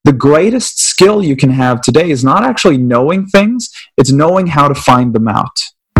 the greatest skill you can have today is not actually knowing things, it's knowing how to find them out.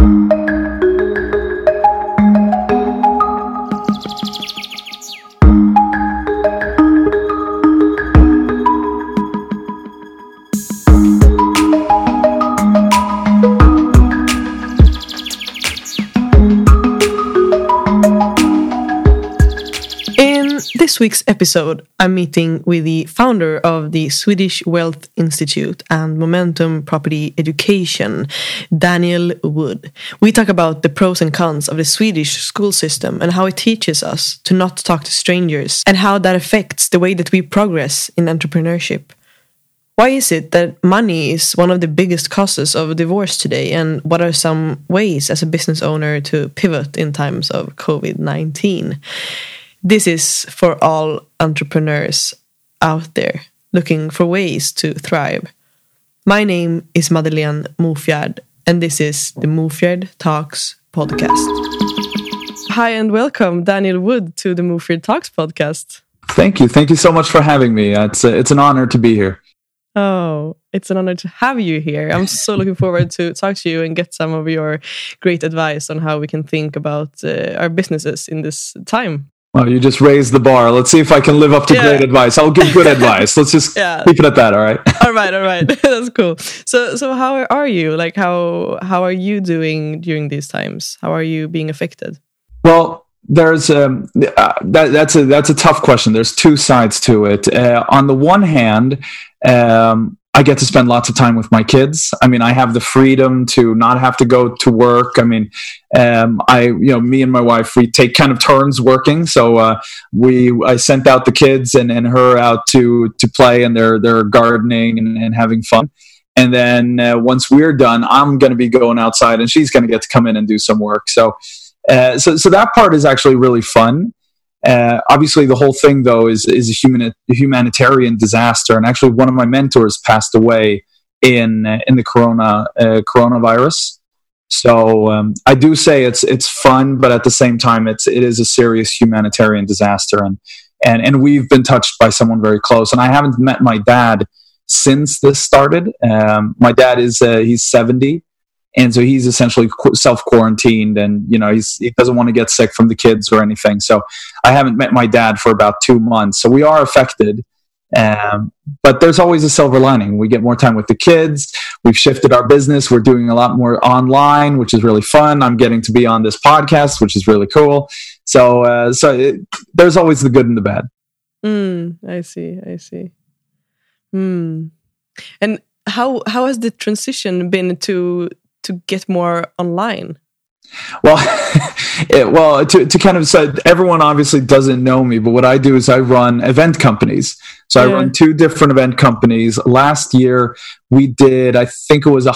This week's episode, I'm meeting with the founder of the Swedish Wealth Institute and Momentum Property Education, Daniel Wood. We talk about the pros and cons of the Swedish school system and how it teaches us to not talk to strangers and how that affects the way that we progress in entrepreneurship. Why is it that money is one of the biggest causes of divorce today, and what are some ways as a business owner to pivot in times of COVID-19? This is for all entrepreneurs out there looking for ways to thrive. My name is Madeleine Mofjärd, and this is the Mofjärd Talks podcast. Hi and welcome, Daniel Wood, to the Mofjärd Talks podcast. Thank you. Thank you so much for having me. It's an honor to be here. Oh, it's an honor to have you here. I'm so looking forward to talk to you and get some of your great advice on how we can think about our businesses in this time. Well, you just raised the bar. Let's see if I can live up to great advice. I'll give good advice. Let's just keep it at that, all right? All right. That's cool. So how are you? Like, how are you doing during these times? How are you being affected? Well, there's that's a tough question. There's two sides to it. On the one hand, I get to spend lots of time with my kids. I mean, I have the freedom to not have to go to work. I mean, me and my wife, we take kind of turns working. So I sent out the kids and her out to play, and they're gardening and having fun. And then once we're done, I'm going to be going outside, and she's going to get to come in and do some work. So that part is actually really fun. Obviously, the whole thing, though, is a humanitarian disaster. And actually, one of my mentors passed away in the coronavirus. So I do say it's fun, but at the same time, it is a serious humanitarian disaster. And we've been touched by someone very close. And I haven't met my dad since this started. My dad he's 70. And so he's essentially self-quarantined, and he doesn't want to get sick from the kids or anything. So I haven't met my dad for about 2 months. So we are affected, but there's always a silver lining. We get more time with the kids. We've shifted our business. We're doing a lot more online, which is really fun. I'm getting to be on this podcast, which is really cool. So there's always the good and the bad. I see. And how has the transition been to get more online? Well, to kind of say, everyone obviously doesn't know me, but what I do is I run event companies. So I run 2 different event companies. Last year we did, I think it was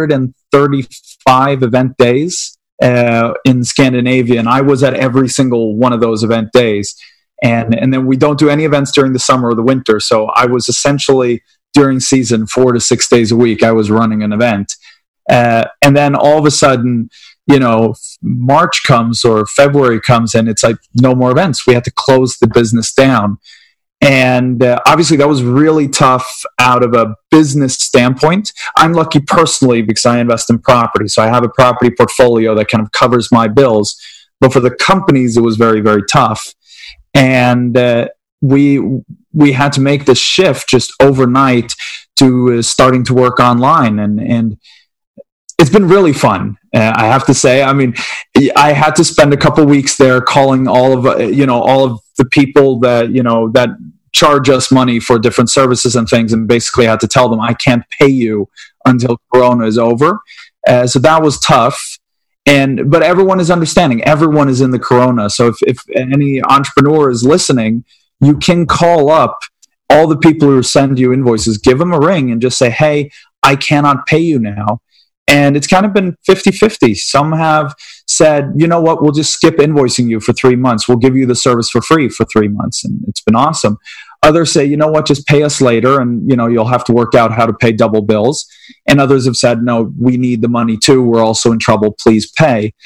135 event days in Scandinavia, and I was at every single one of those event days. And then we don't do any events during the summer or the winter. So I was essentially during season 4 to 6 days a week, I was running an event. And then all of a sudden, March comes or February comes, and it's like no more events. We had to close the business down. And obviously that was really tough out of a business standpoint. I'm lucky personally because I invest in property. So I have a property portfolio that kind of covers my bills. But for the companies, it was very, very tough. And we had to make this shift just overnight to starting to work online. And it's been really fun. I have to say, I mean, I had to spend a couple weeks there calling all of the people that charge us money for different services and things, and basically had to tell them I can't pay you until Corona is over. So that was tough. But everyone is understanding. Everyone is in the Corona. So if any entrepreneur is listening, you can call up all the people who send you invoices, give them a ring and just say, hey, I cannot pay you now. And it's kind of been 50-50. Some have said, you know what, we'll just skip invoicing you for 3 months. We'll give you the service for free for 3 months. And it's been awesome. Others say, you know what, just pay us later, and you'll have to work out how to pay double bills. And others have said, no, we need the money too. We're also in trouble. Please pay.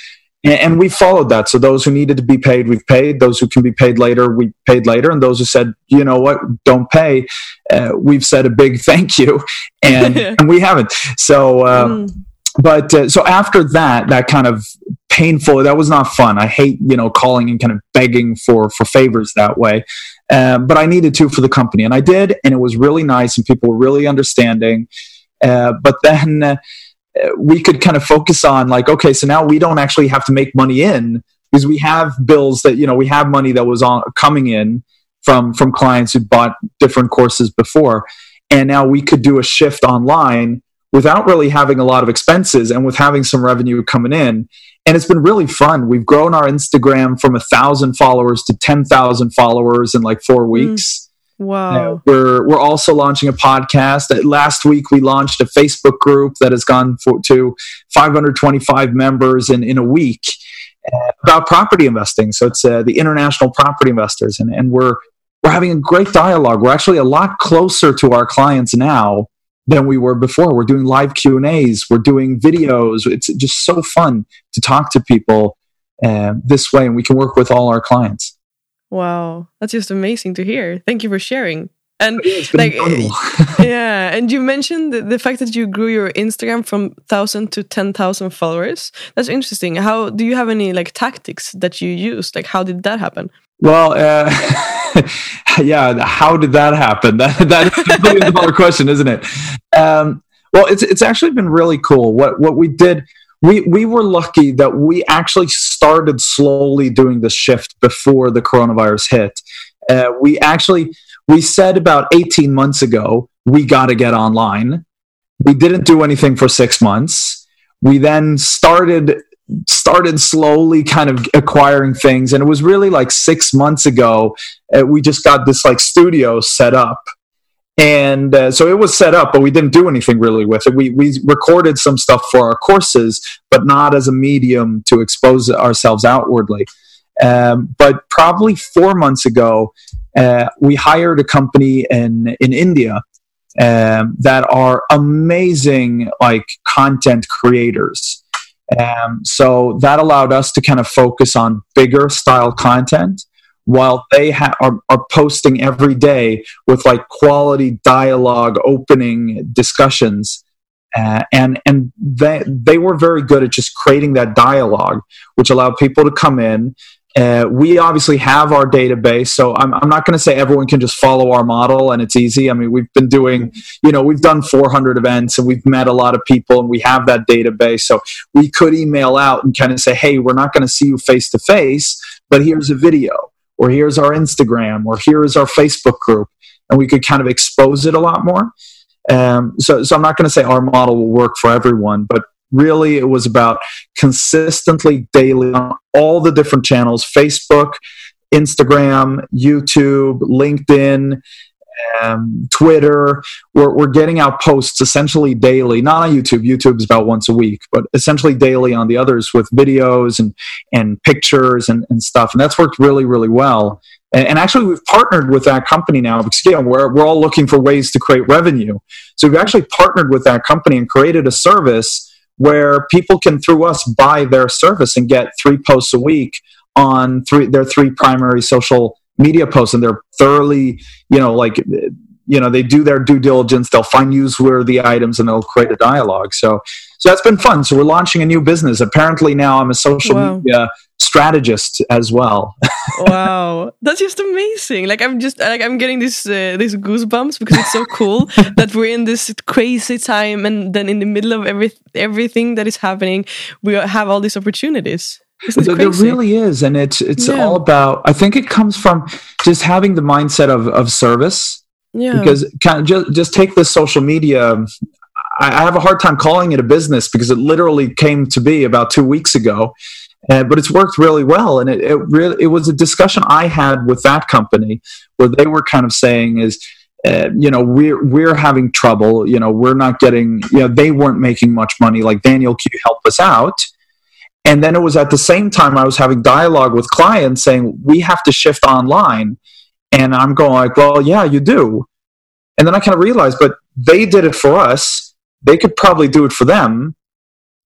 And we followed that. So those who needed to be paid, we've paid. Those who can be paid later, we paid later. And those who said, you know what, don't pay, we've said a big thank you, and we haven't. So, so after that kind of painful, that was not fun. I hate, calling and kind of begging for favors that way. But I needed to for the company, and I did, and it was really nice, and people were really understanding. But then we could kind of focus on like, okay, so now we don't actually have to make money in, because we have bills that, we have money that was coming in from clients who bought different courses before. And now we could do a shift online without really having a lot of expenses and with having some revenue coming in. And it's been really fun. We've grown our Instagram from 1,000 followers to 10,000 followers in like 4 weeks. Wow. We're also launching a podcast. Last week we launched a Facebook group that has gone to 525 members in a week about property investing. So it's the International Property Investors, and we're having a great dialogue. We're actually a lot closer to our clients now than we were before. We're doing live Q&As. We're doing videos. It's just so fun to talk to people this way, and we can work with all our clients. Wow, that's just amazing to hear. Thank you for sharing. And incredible. Yeah, and you mentioned the fact that you grew your Instagram from 1,000 to 10,000 followers. That's interesting. How do you have any like tactics that you used? Like, how did that happen? Well, yeah, how did that happen? That is a million dollar question, isn't it? Well, it's actually been really cool. What we did. We were lucky that we actually started slowly doing the shift before the coronavirus hit. We said about 18 months ago, we got to get online. We didn't do anything for 6 months. We then started slowly kind of acquiring things. And it was really like 6 months ago, we just got this like studio set up. And so it was set up, but we didn't do anything really with it. We recorded some stuff for our courses, but not as a medium to expose ourselves outwardly. But probably 4 months ago, we hired a company in India that are amazing like content creators. So that allowed us to kind of focus on bigger style content, while they are posting every day with like quality dialogue, opening discussions. And they were very good at just creating that dialogue, which allowed people to come in. We obviously have our database, so I'm not going to say everyone can just follow our model and it's easy. I mean, we've been doing, we've done 400 events and we've met a lot of people and we have that database. So we could email out and kind of say, hey, we're not going to see you face to face, but here's a video, or here's our Instagram, or here is our Facebook group, and we could kind of expose it a lot more. So I'm not going to say our model will work for everyone, but really it was about consistently daily on all the different channels: Facebook, Instagram, YouTube, LinkedIn, Twitter. We're getting out posts essentially daily, not on YouTube. YouTube's about once a week, but essentially daily on the others with videos and pictures and stuff. And that's worked really, really well. And actually, we've partnered with that company now, because we're all looking for ways to create revenue. So we've actually partnered with that company and created a service where people can, through us, buy their service and get 3 posts a week on their 3 primary social media posts. And they're thoroughly, they do their due diligence. They'll find newsworthy items and they'll create a dialogue. So that's been fun. So we're launching a new business. Apparently now I'm a social media strategist as well. Wow, that's just amazing. I'm getting these goosebumps, because it's so cool that we're in this crazy time, and then in the middle of everything that is happening, we have all these opportunities. There really is, and it's all about, I think it comes from just having the mindset of service. Yeah. Because kind of just take this social media. I have a hard time calling it a business, because it literally came to be about 2 weeks ago. But it's worked really well, and it was a discussion I had with that company where they were kind of saying is, we're having trouble. We're not getting. They weren't making much money. Like, Daniel, can you help us out? And then it was at the same time I was having dialogue with clients saying, we have to shift online, and I'm going like, well, yeah, you do. And then I kind of realized, but they did it for us. They could probably do it for them.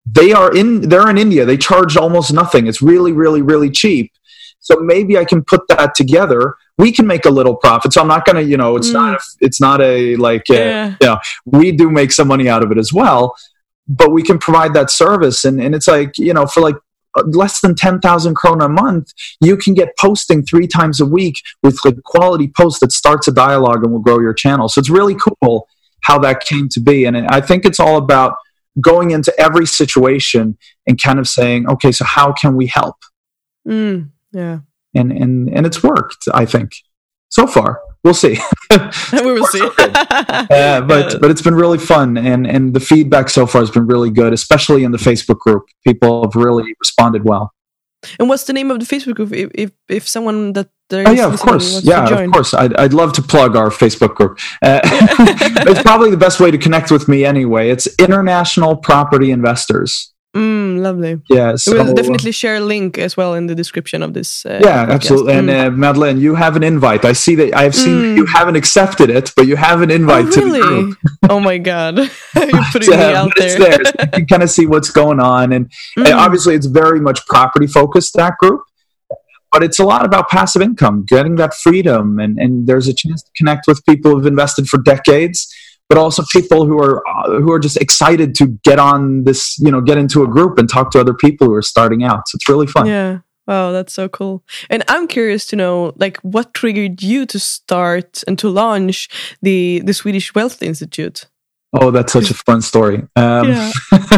they're in India. They charge almost nothing. It's really, really, really cheap. So maybe I can put that together. We can make a little profit. So I'm not going to, it's not a like, we do make some money out of it as well, but we can provide that service. And it's like, for like less than 10,000 krona a month, you can get posting 3 times a week with like quality posts that starts a dialogue and will grow your channel. So it's really cool how that came to be. And I think it's all about going into every situation and kind of saying, okay, so how can we help? Yeah. And it's worked, I think. So far. We'll see. We will see. But it's been really fun, and the feedback so far has been really good, especially in the Facebook group. People have really responded well. And what's the name of the Facebook group? If someone that of course. I'd love to plug our Facebook group. It's probably the best way to connect with me anyway. It's International Property Investors. Lovely. Yeah, so, we'll definitely share a link as well in the description of this. Podcast. Absolutely. And Madeleine, you have an invite. I see that I've seen that you haven't accepted it, but you have an invite to the group. Oh my God, you're putting me out there. It's there. So you can kind of see what's going on, and obviously it's very much property focused, that group. But it's a lot about passive income, getting that freedom, and there's a chance to connect with people who've invested for decades, but also people who are just excited to get on this, get into a group and talk to other people who are starting out. So it's really fun. Yeah. Wow, that's so cool. And I'm curious to know, like, what triggered you to start and to launch the Swedish Wealth Institute? Oh, that's such a fun story. Well,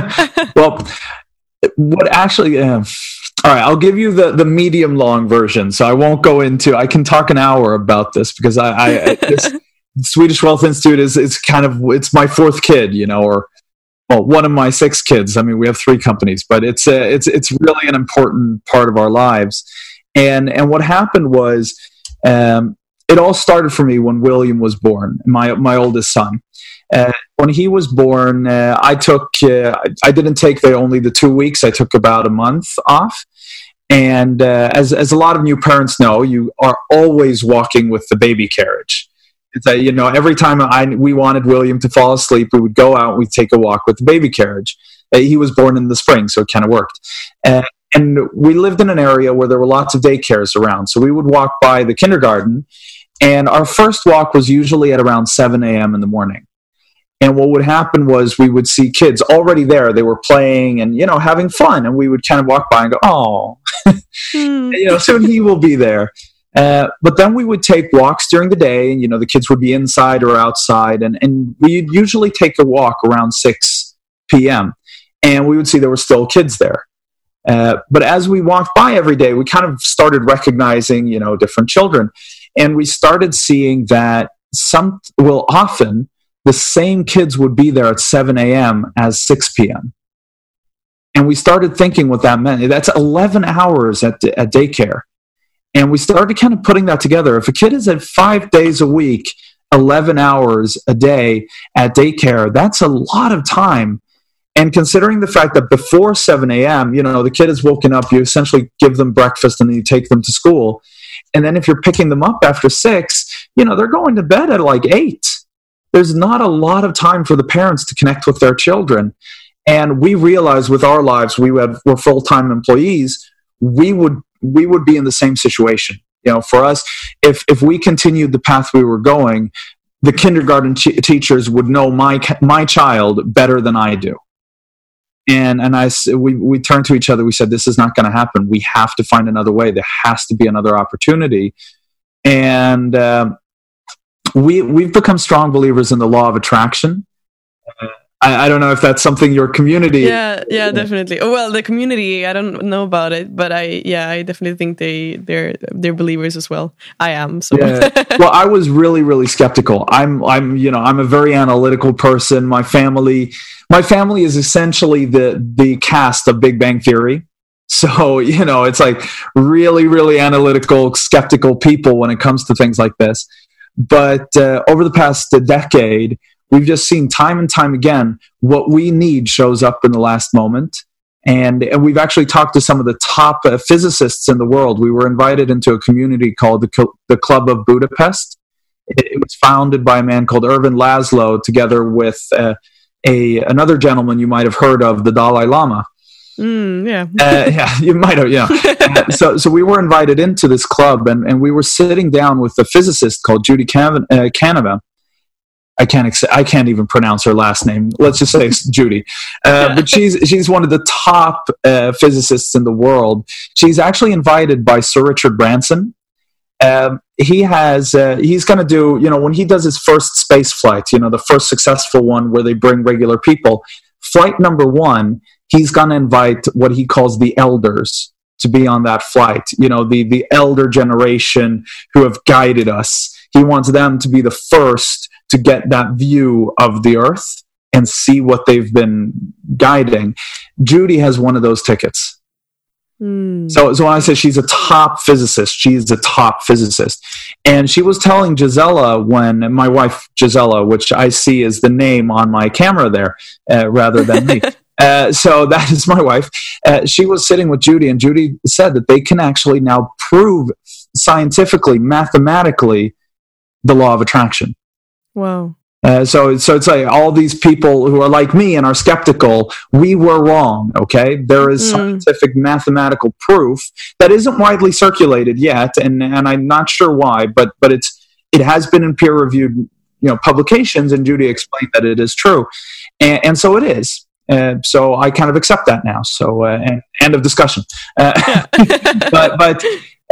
what actually... all right, I'll give you the medium long version. So I won't go into. I can talk an hour about this because this Swedish Wealth Institute it's my 4th kid, or one of my 6 kids. I mean, we have 3 companies, but it's really an important part of our lives. And what happened was, it all started for me when William was born, my oldest son. When he was born, I didn't take only the 2 weeks. I took about a month off. And as a lot of new parents know, you are always walking with the baby carriage. It's every time we wanted William to fall asleep, we would go out and we'd take a walk with the baby carriage. He was born in the spring, so it kind of worked. And we lived in an area where there were lots of daycares around. So we would walk by the kindergarten, and our first walk was usually at around 7 a.m. in the morning. And what would happen was we would see kids already there. They were playing and, having fun. And we would kind of walk by and go, oh, soon he will be there. But then we would take walks during the day, and, the kids would be inside or outside. And we'd usually take a walk around 6 p.m. And we would see there were still kids there. But as we walked by every day, we kind of started recognizing, different children. And we started seeing that often the same kids would be there at 7 a.m. as 6 p.m. And we started thinking what that meant. That's 11 hours at daycare. And we started kind of putting that together. If a kid is at 5 days a week, 11 hours a day at daycare, that's a lot of time. And considering the fact that before 7 a.m., the kid is woken up, you essentially give them breakfast and then you take them to school. And then if you're picking them up after 6, they're going to bed at like 8. There's not a lot of time for the parents to connect with their children. And we realized with our lives, we're full-time employees, we would be in the same situation. For us, if we continued the path we were going, the kindergarten teachers would know my child better than I do. And we turned to each other. We said, this is not going to happen. We have to find another way. There has to be another opportunity. And we've become strong believers in the law of attraction. I don't know if that's something your community... Yeah, definitely. Well, the community, I don't know about it, but I definitely think they're believers as well. I am. So. Yeah. Well, I was really, really skeptical. I'm a very analytical person. My family is essentially the cast of Big Bang Theory. So, it's like really, really analytical, skeptical people when it comes to things like this. But over the past decade, we've just seen time and time again what we need shows up in the last moment. And we've actually talked to some of the top physicists in the world. We were invited into a community called the Club of Budapest. It was founded by a man called Ervin Laszlo together with another gentleman you might have heard of, the Dalai Lama. Yeah, you might have. Yeah. So we were invited into this club, and we were sitting down with a physicist called Judy Canova. I can't even pronounce her last name. Let's just say Judy. But she's one of the top physicists in the world. She's actually invited by Sir Richard Branson. He's going to do, when he does his first space flight, the first successful one where they bring regular people, flight number 1, he's going to invite what he calls the elders to be on that flight. The elder generation who have guided us. He wants them to be the first to get that view of the Earth and see what they've been guiding. Judy has one of those tickets. So when I say she's a top physicist, she's a top physicist. And she was telling Gisela, when my wife Gisela, which I see as the name on my camera there, rather than me. So that is my wife. She was sitting with Judy, and Judy said that they can actually now prove scientifically, mathematically, the law of attraction. Wow. So it's like all these people who are like me and are skeptical, we were wrong, okay? There is scientific mathematical proof that isn't widely circulated yet, and I'm not sure why, but it has been in peer-reviewed publications, and Judy explained that it is true. And so it is. So I kind of accept that now. So end of discussion. But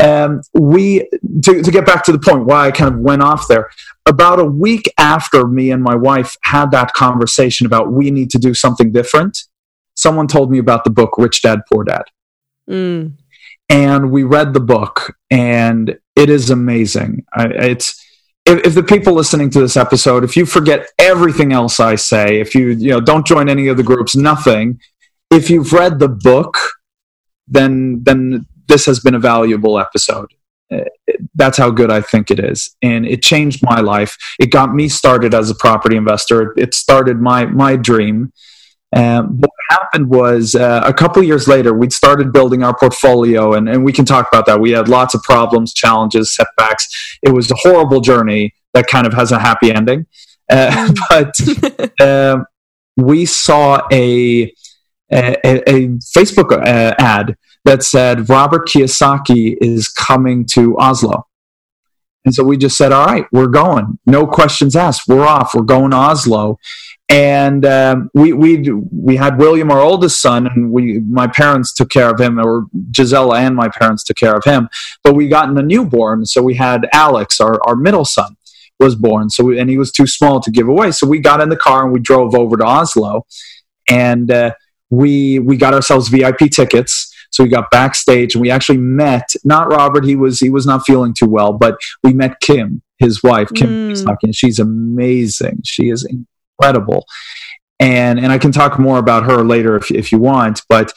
to get back to the point why I kind of went off there, about a week after me and my wife had that conversation about we need to do something different, someone told me about the book Rich Dad, Poor Dad. And we read the book, and it is amazing. If the people listening to this episode, if you forget everything else I say, if you don't join any of the groups, nothing, if you've read the book, then this has been a valuable episode. That's how good I think it is. And it changed my life. It got me started as a property investor. It started my dream. What happened was a couple of years later, we'd started building our portfolio, and we can talk about that. We had lots of problems, challenges, setbacks. It was a horrible journey that kind of has a happy ending. But we saw a Facebook ad that said Robert Kiyosaki is coming to Oslo. And so we just said, all right, we're going. No questions asked. We're off. We're going to Oslo. And we had William, our oldest son, and my parents took care of him, or Gisela and my parents took care of him. But we got a newborn, so we had Alex, our middle son, was born. And he was too small to give away. So we got in the car and we drove over to Oslo, and we got ourselves VIP tickets. So we got backstage, and we actually met, not Robert, he was not feeling too well, but we met Kim, his wife, Kim Kiyosaki, and she's amazing. She is incredible. And I can talk more about her later if you want, but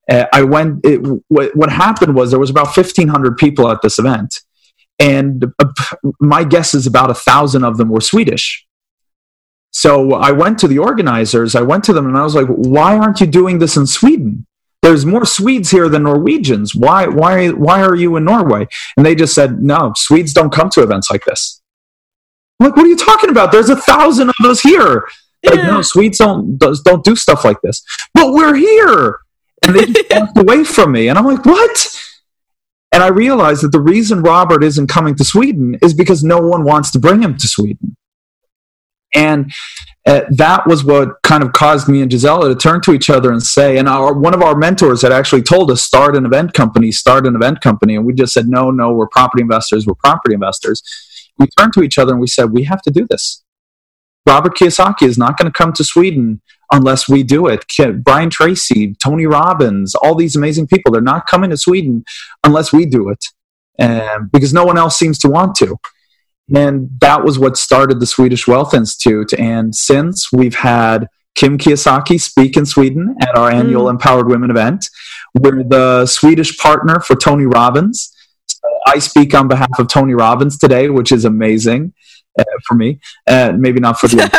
what happened was there was about 1,500 people at this event, and my guess is about 1,000 of them were Swedish. So I went to the organizers, I went to them, and I was like, why aren't you doing this in Sweden? There's more Swedes here than Norwegians. Why are you in Norway? And they just said, no, Swedes don't come to events like this. I'm like, what are you talking about? There's 1,000 of us here. Like, no, Swedes don't do stuff like this. But we're here. And they just walked away from me. And I'm like, what? And I realized that the reason Robert isn't coming to Sweden is because no one wants to bring him to Sweden. And that was what kind of caused me and Gisela to turn to each other and say, and one of our mentors had actually told us, start an event company. And we just said, no, we're property investors. We turned to each other and we said, we have to do this. Robert Kiyosaki is not going to come to Sweden unless we do it. Brian Tracy, Tony Robbins, all these amazing people, they're not coming to Sweden unless we do it, because no one else seems to want to. And that was what started the Swedish Wealth Institute. And since, we've had Kim Kiyosaki speak in Sweden at our annual Empowered Women event. We're the Swedish partner for Tony Robbins. So I speak on behalf of Tony Robbins today, which is amazing for me. Maybe not for the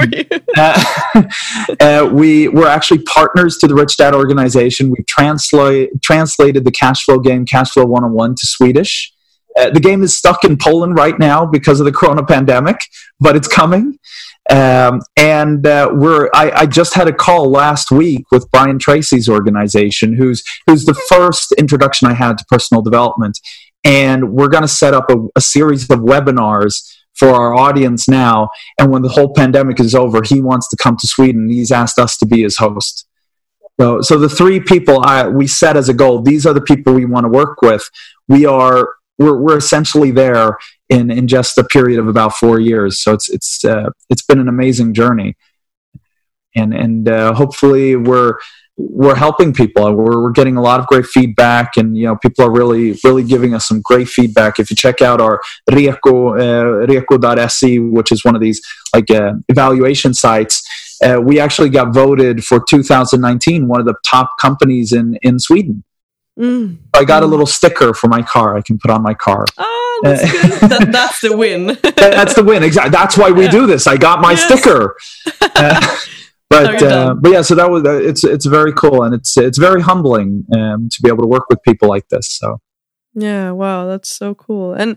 for you. We're actually partners to the Rich Dad organization. We've translated the cash flow game, Cash Flow 101, to Swedish. The game is stuck in Poland right now because of the corona pandemic, but it's coming. I just had a call last week with Brian Tracy's organization, who's the first introduction I had to personal development. And we're going to set up a series of webinars for our audience now. And when the whole pandemic is over, he wants to come to Sweden. He's asked us to be his host. So the three people we set as a goal, these are the people we want to work with. We're essentially there in just a period of about 4 years. So it's been an amazing journey, and hopefully we're helping people. We're getting a lot of great feedback, and people are really giving us some great feedback. If you check out our Reko.se, which is one of these evaluation sites, we actually got voted for 2019 one of the top companies in Sweden. I got a little sticker for my car I can put on my car. Oh, that's good. That's the win. That's the win. Exactly. That's why we do this. I got my sticker. But yeah, so that was it's very cool, and it's very humbling to be able to work with people like this. So yeah, wow, that's so cool. And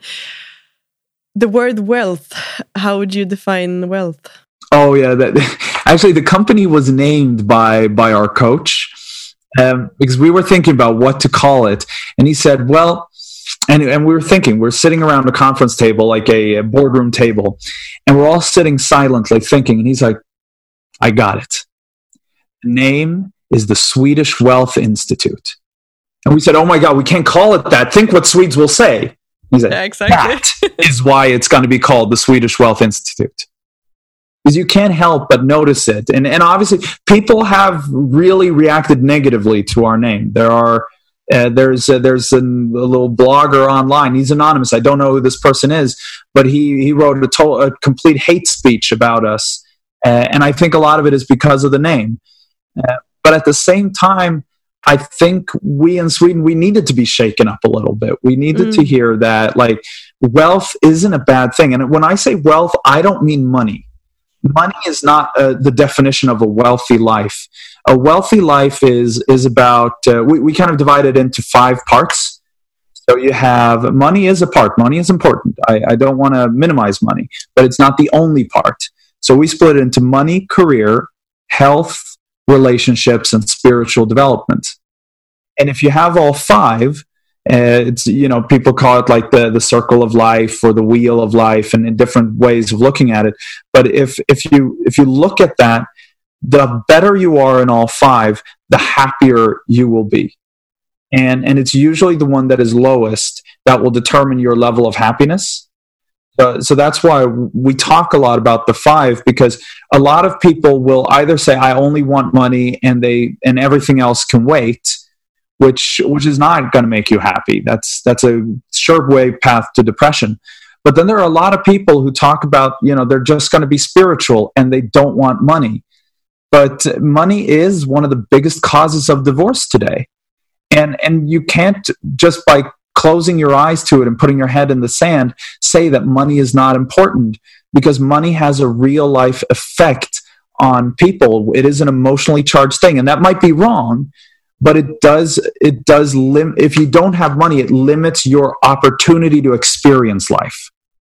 the word wealth, how would you define wealth? Oh yeah, actually the company was named by our coach. Because we were thinking about what to call it, and he said, well, and we were thinking, we're sitting around a conference table, like a boardroom table, and we're all sitting silently thinking, and he's like, I got it. The name is the Swedish Wealth Institute. And we said, oh my God, we can't call it that. Think what Swedes will say. He said, yeah, exactly. That is why it's going to be called the Swedish Wealth Institute. Because you can't help but notice it. And obviously, people have really reacted negatively to our name. There's a little blogger online. He's anonymous. I don't know who this person is, but he wrote a complete hate speech about us. And I think a lot of it is because of the name. But at the same time, I think we in Sweden, we needed to be shaken up a little bit. We needed to hear that, wealth isn't a bad thing. And when I say wealth, I don't mean money. Money is not the definition of a wealthy life. A wealthy life is about, we kind of divide it into 5 parts. So you have, money is a part. Money is important. I don't want to minimize money, but it's not the only part. So we split it into money, career, health, relationships, and spiritual development. And if you have all 5, it's, people call it like the circle of life or the wheel of life, and in different ways of looking at it. But if you look at that, the better you are in all 5, the happier you will be. And it's usually the one that is lowest that will determine your level of happiness. So that's why we talk a lot about the 5, because a lot of people will either say, I only want money, and everything else can wait, which is not going to make you happy. That's a sure way path to depression. But then there are a lot of people who talk about, they're just going to be spiritual and they don't want money. But money is one of the biggest causes of divorce today. And you can't just by closing your eyes to it and putting your head in the sand say that money is not important, because money has a real life effect on people. It is an emotionally charged thing, and that might be wrong. But it does if you don't have money, it limits your opportunity to experience life.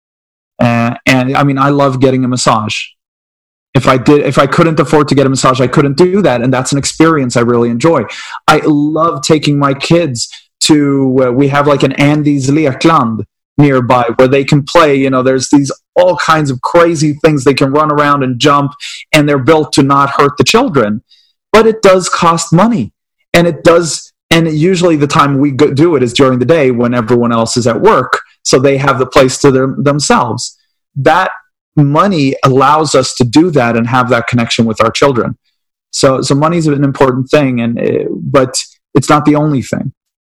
And I mean, I love getting a massage. If I couldn't afford to get a massage, I couldn't do that. And that's an experience I really enjoy. I love taking my kids to, we have like an Andy's Lekland nearby where they can play. There's these all kinds of crazy things. They can run around and jump, and they're built to not hurt the children. But it does cost money. And it does, and usually the time we do it is during the day when everyone else is at work, so they have the place to themselves. That money allows us to do that and have that connection with our children. So money is an important thing, but it's not the only thing.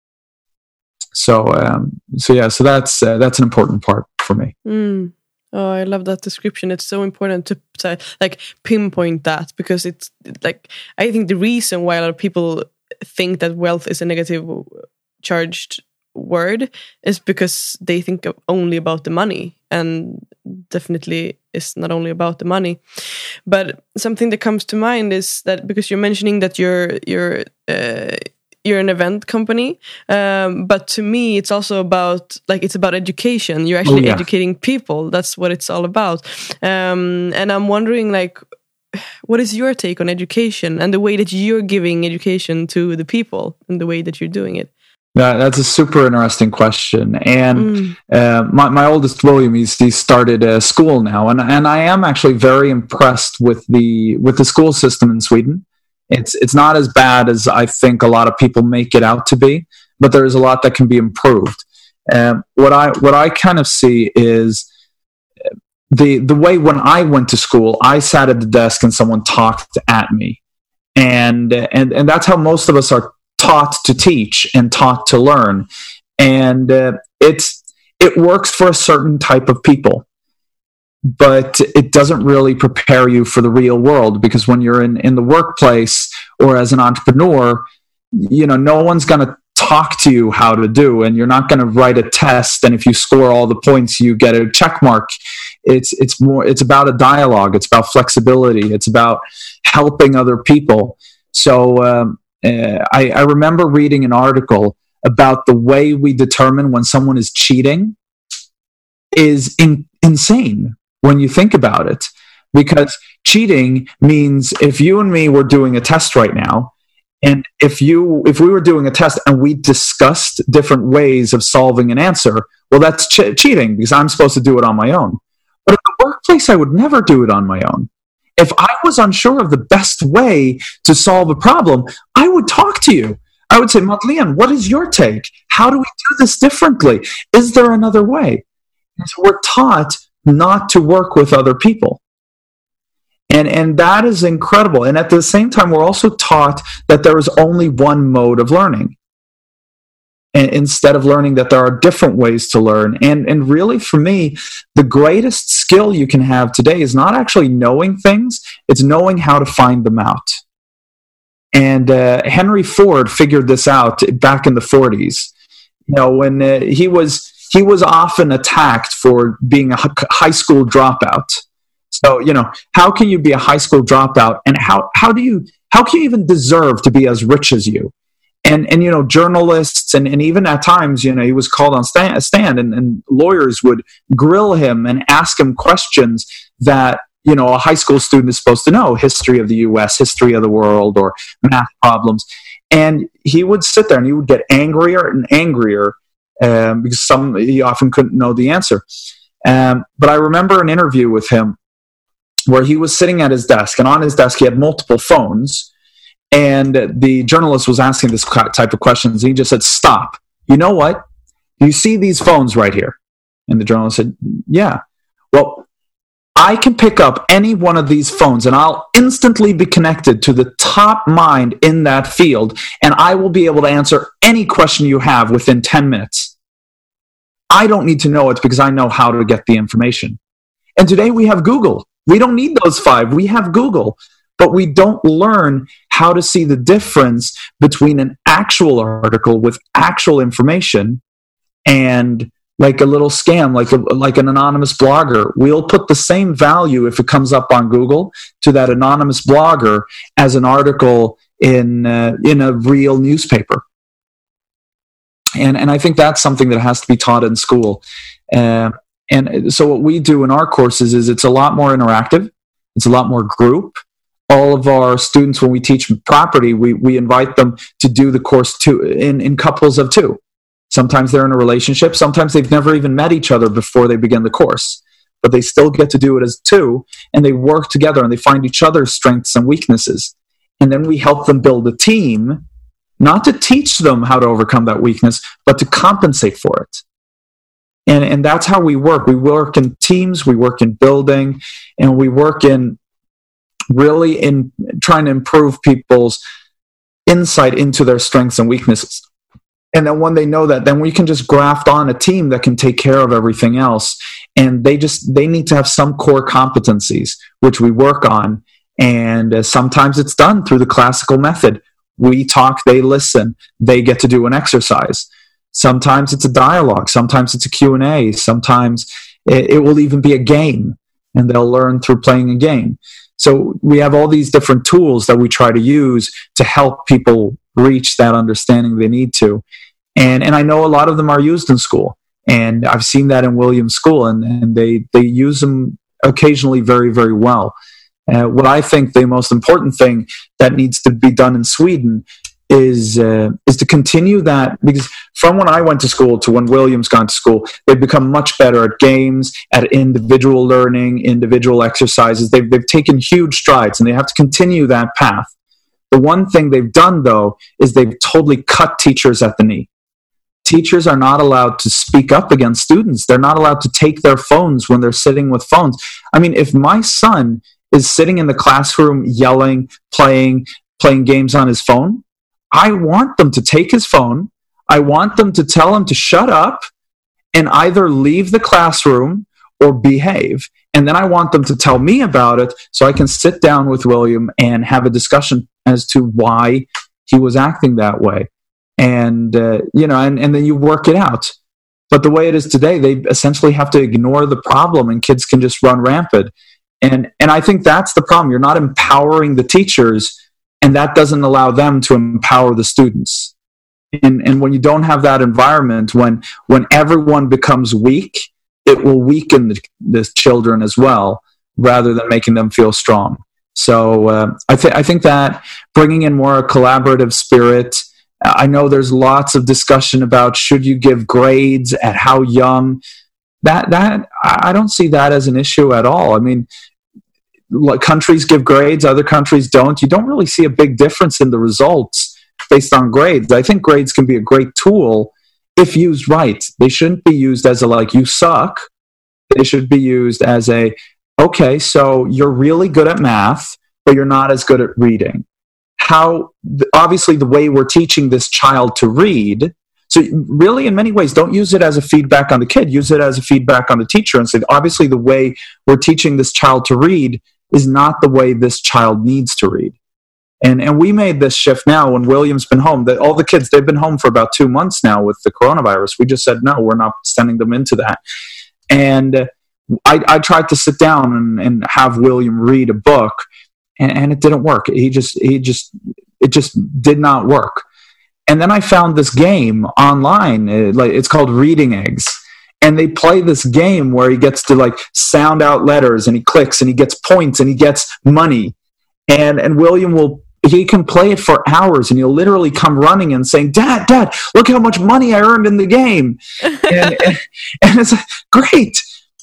So that's an important part for me. Oh, I love that description. It's so important to pinpoint that, because it's I think the reason why a lot of people think that wealth is a negative charged word is because they think only about the money, and definitely it's not only about the money. But something that comes to mind is that, because you're mentioning that your you're an event company, but to me it's also about education. You're actually educating people. That's what it's all about. And I'm wondering, like, what is your take on education and the way that you're giving education to the people and the way that you're doing it? That's a super interesting question. And my oldest, William, he started a school now, and I am actually very impressed with the school system in Sweden. It's not as bad as I think a lot of people make it out to be, but there is a lot that can be improved. What I kind of see is the way when I went to school, I sat at the desk and someone talked at me, and that's how most of us are taught to teach and taught to learn, and it works for a certain type of people, but it doesn't really prepare you for the real world, because when you're in the workplace or as an entrepreneur, no one's going to talk to you how to do, and you're not going to write a test, and if you score all the points you get a check mark. It's about a dialogue, it's about flexibility, it's about helping other people. So I remember reading an article about the way we determine when someone is cheating is insane when you think about it. Because cheating means if you and me were doing a test right now, and if we were doing a test and we discussed different ways of solving an answer, well, that's cheating, because I'm supposed to do it on my own. But in the workplace, I would never do it on my own. If I was unsure of the best way to solve a problem, I would talk to you. I would say, Madeleine, what is your take? How do we do this differently? Is there another way? And so we're taught not to work with other people. And that is incredible. And at the same time, we're also taught that there is only one mode of learning, and instead of learning that there are different ways to learn. And really, for me, the greatest skill you can have today is not actually knowing things, it's knowing how to find them out. And Henry Ford figured this out back in the 40s. When he was often attacked for being a high school dropout. So, how can you be a high school dropout, and how can you even deserve to be as rich as you? And journalists and even at times, he was called on stand and lawyers would grill him and ask him questions that, a high school student is supposed to know: history of the U.S., history of the world, or math problems. And he would sit there and he would get angrier and angrier because he often couldn't know the answer. But I remember an interview with him where he was sitting at his desk, and on his desk he had multiple phones. And the journalist was asking this type of questions. And he just said, "Stop. You know what? Do you see these phones right here?" And the journalist said, "Yeah." "Well, I can pick up any one of these phones and I'll instantly be connected to the top mind in that field, and I will be able to answer any question you have within 10 minutes. I don't need to know it because I know how to get the information." And today we have Google. We don't need those 5. We have Google. But we don't learn how to see the difference between an actual article with actual information and like a little scam, like an anonymous blogger. We'll put the same value if it comes up on Google to that anonymous blogger as an article in a real newspaper. And I think that's something that has to be taught in school. And so what we do in our courses is it's a lot more interactive. It's a lot more group. All of our students, when we teach property, we invite them to do the course in couples of 2. Sometimes they're in a relationship. Sometimes they've never even met each other before they begin the course. But they still get to do it as 2, and they work together, and they find each other's strengths and weaknesses. And then we help them build a team, not to teach them how to overcome that weakness, but to compensate for it. And that's how we work. We work in teams, we work in building, and we work in trying to improve people's insight into their strengths and weaknesses. And then when they know that, then we can just graft on a team that can take care of everything else. And they need to have some core competencies, which we work on. And sometimes it's done through the classical method. We talk, they listen, they get to do an exercise. Sometimes it's a dialogue. Sometimes it's a Q&A. Sometimes it will even be a game, and they'll learn through playing a game. So we have all these different tools that we try to use to help people reach that understanding they need to. And I know a lot of them are used in school. And I've seen that in Williams School, and they use them occasionally very, very well. What I think the most important thing that needs to be done in Sweden is to continue that, because from when I went to school to when Williams gone to school, they've become much better at games, at individual learning, individual exercises. They've taken huge strides, and they have to continue that path. The one thing they've done, though, is they've totally cut teachers at the knee. Teachers are not allowed to speak up against students. They're not allowed to take their phones when they're sitting with phones. I mean, if my son is sitting in the classroom yelling, playing games on his phone, I want them to take his phone. I want them to tell him to shut up and either leave the classroom or behave. And then I want them to tell me about it so I can sit down with William and have a discussion as to why he was acting that way. And and then you work it out. But the way it is today, they essentially have to ignore the problem, and kids can just run rampant. And I think that's the problem. You're not empowering the teachers, and that doesn't allow them to empower the students. And when you don't have that environment, when everyone becomes weak, it will weaken the children as well, rather than making them feel strong. So I think that bringing in more collaborative spirit. I know there's lots of discussion about should you give grades at how young. That I don't see that as an issue at all. I mean, countries give grades, other countries don't. You don't really see a big difference in the results based on grades. I think grades can be a great tool if used right. They shouldn't be used as a like, you suck. They should be used as a, okay, so you're really good at math, but you're not as good at reading. Obviously the way we're teaching this child to read, so really in many ways don't use it as a feedback on the kid, use it as a feedback on the teacher, and say obviously the way we're teaching this child to read is not the way this child needs to read. And we made this shift now when William's been home, that all the kids, they've been home for about 2 months now with the coronavirus. We just said no, we're not sending them into that. And I tried to sit down and have William read a book, and it didn't work. It just did not work. And then I found this game online. It's called Reading Eggs. And they play this game where he gets to sound out letters, and he clicks and he gets points and he gets money. And William he can play it for hours, and he'll literally come running and saying, Dad, look how much money I earned in the game. and it's great.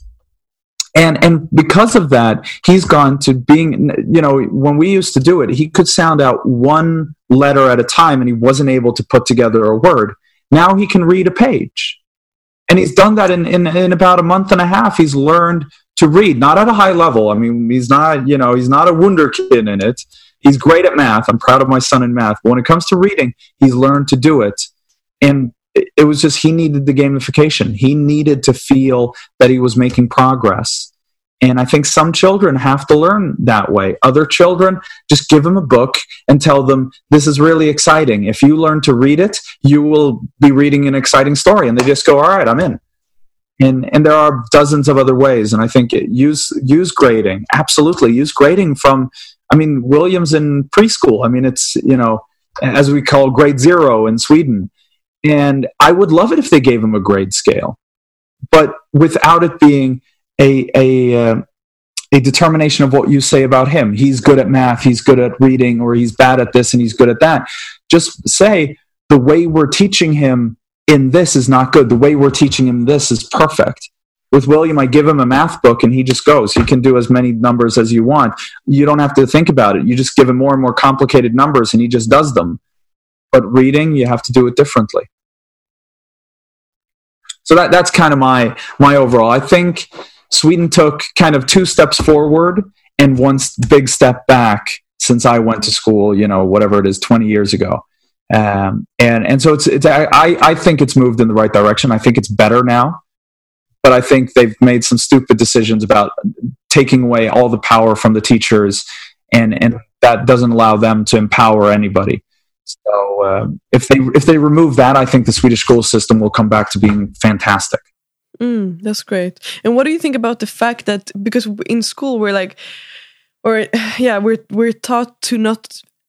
And because of that, he's gone to being, when we used to do it, he could sound out one letter at a time, and he wasn't able to put together a word. Now he can read a page. And he's done that in about a month and a half. He's learned to read, not at a high level. I mean, he's not a wunderkind in it. He's great at math. I'm proud of my son in math. But when it comes to reading, he's learned to do it. And it was just, he needed the gamification. He needed to feel that he was making progress. And I think some children have to learn that way. Other children, just give them a book and tell them, this is really exciting. If you learn to read it, you will be reading an exciting story. And they just go, all right, I'm in. And there are dozens of other ways. And I think use grading. Absolutely. Use grading from, William's in preschool. It's, as we call grade 0 in Sweden. And I would love it if they gave him a grade scale, but without it being a determination of what you say about him. He's good at math, he's good at reading, or he's bad at this and he's good at that. Just say, the way we're teaching him in this is not good. The way we're teaching him this is perfect. With William, I give him a math book and he just goes. He can do as many numbers as you want. You don't have to think about it. You just give him more and more complicated numbers and he just does them. But reading, you have to do it differently. So that's kind of my overall. I think Sweden took kind of 2 steps forward and 1 big step back since I went to school, whatever it is, 20 years ago. And so I think it's moved in the right direction. I think it's better now, but I think they've made some stupid decisions about taking away all the power from the teachers, and that doesn't allow them to empower anybody. So if they remove that, I think the Swedish school system will come back to being fantastic. That's great. And what do you think about the fact that, because in school we're taught to not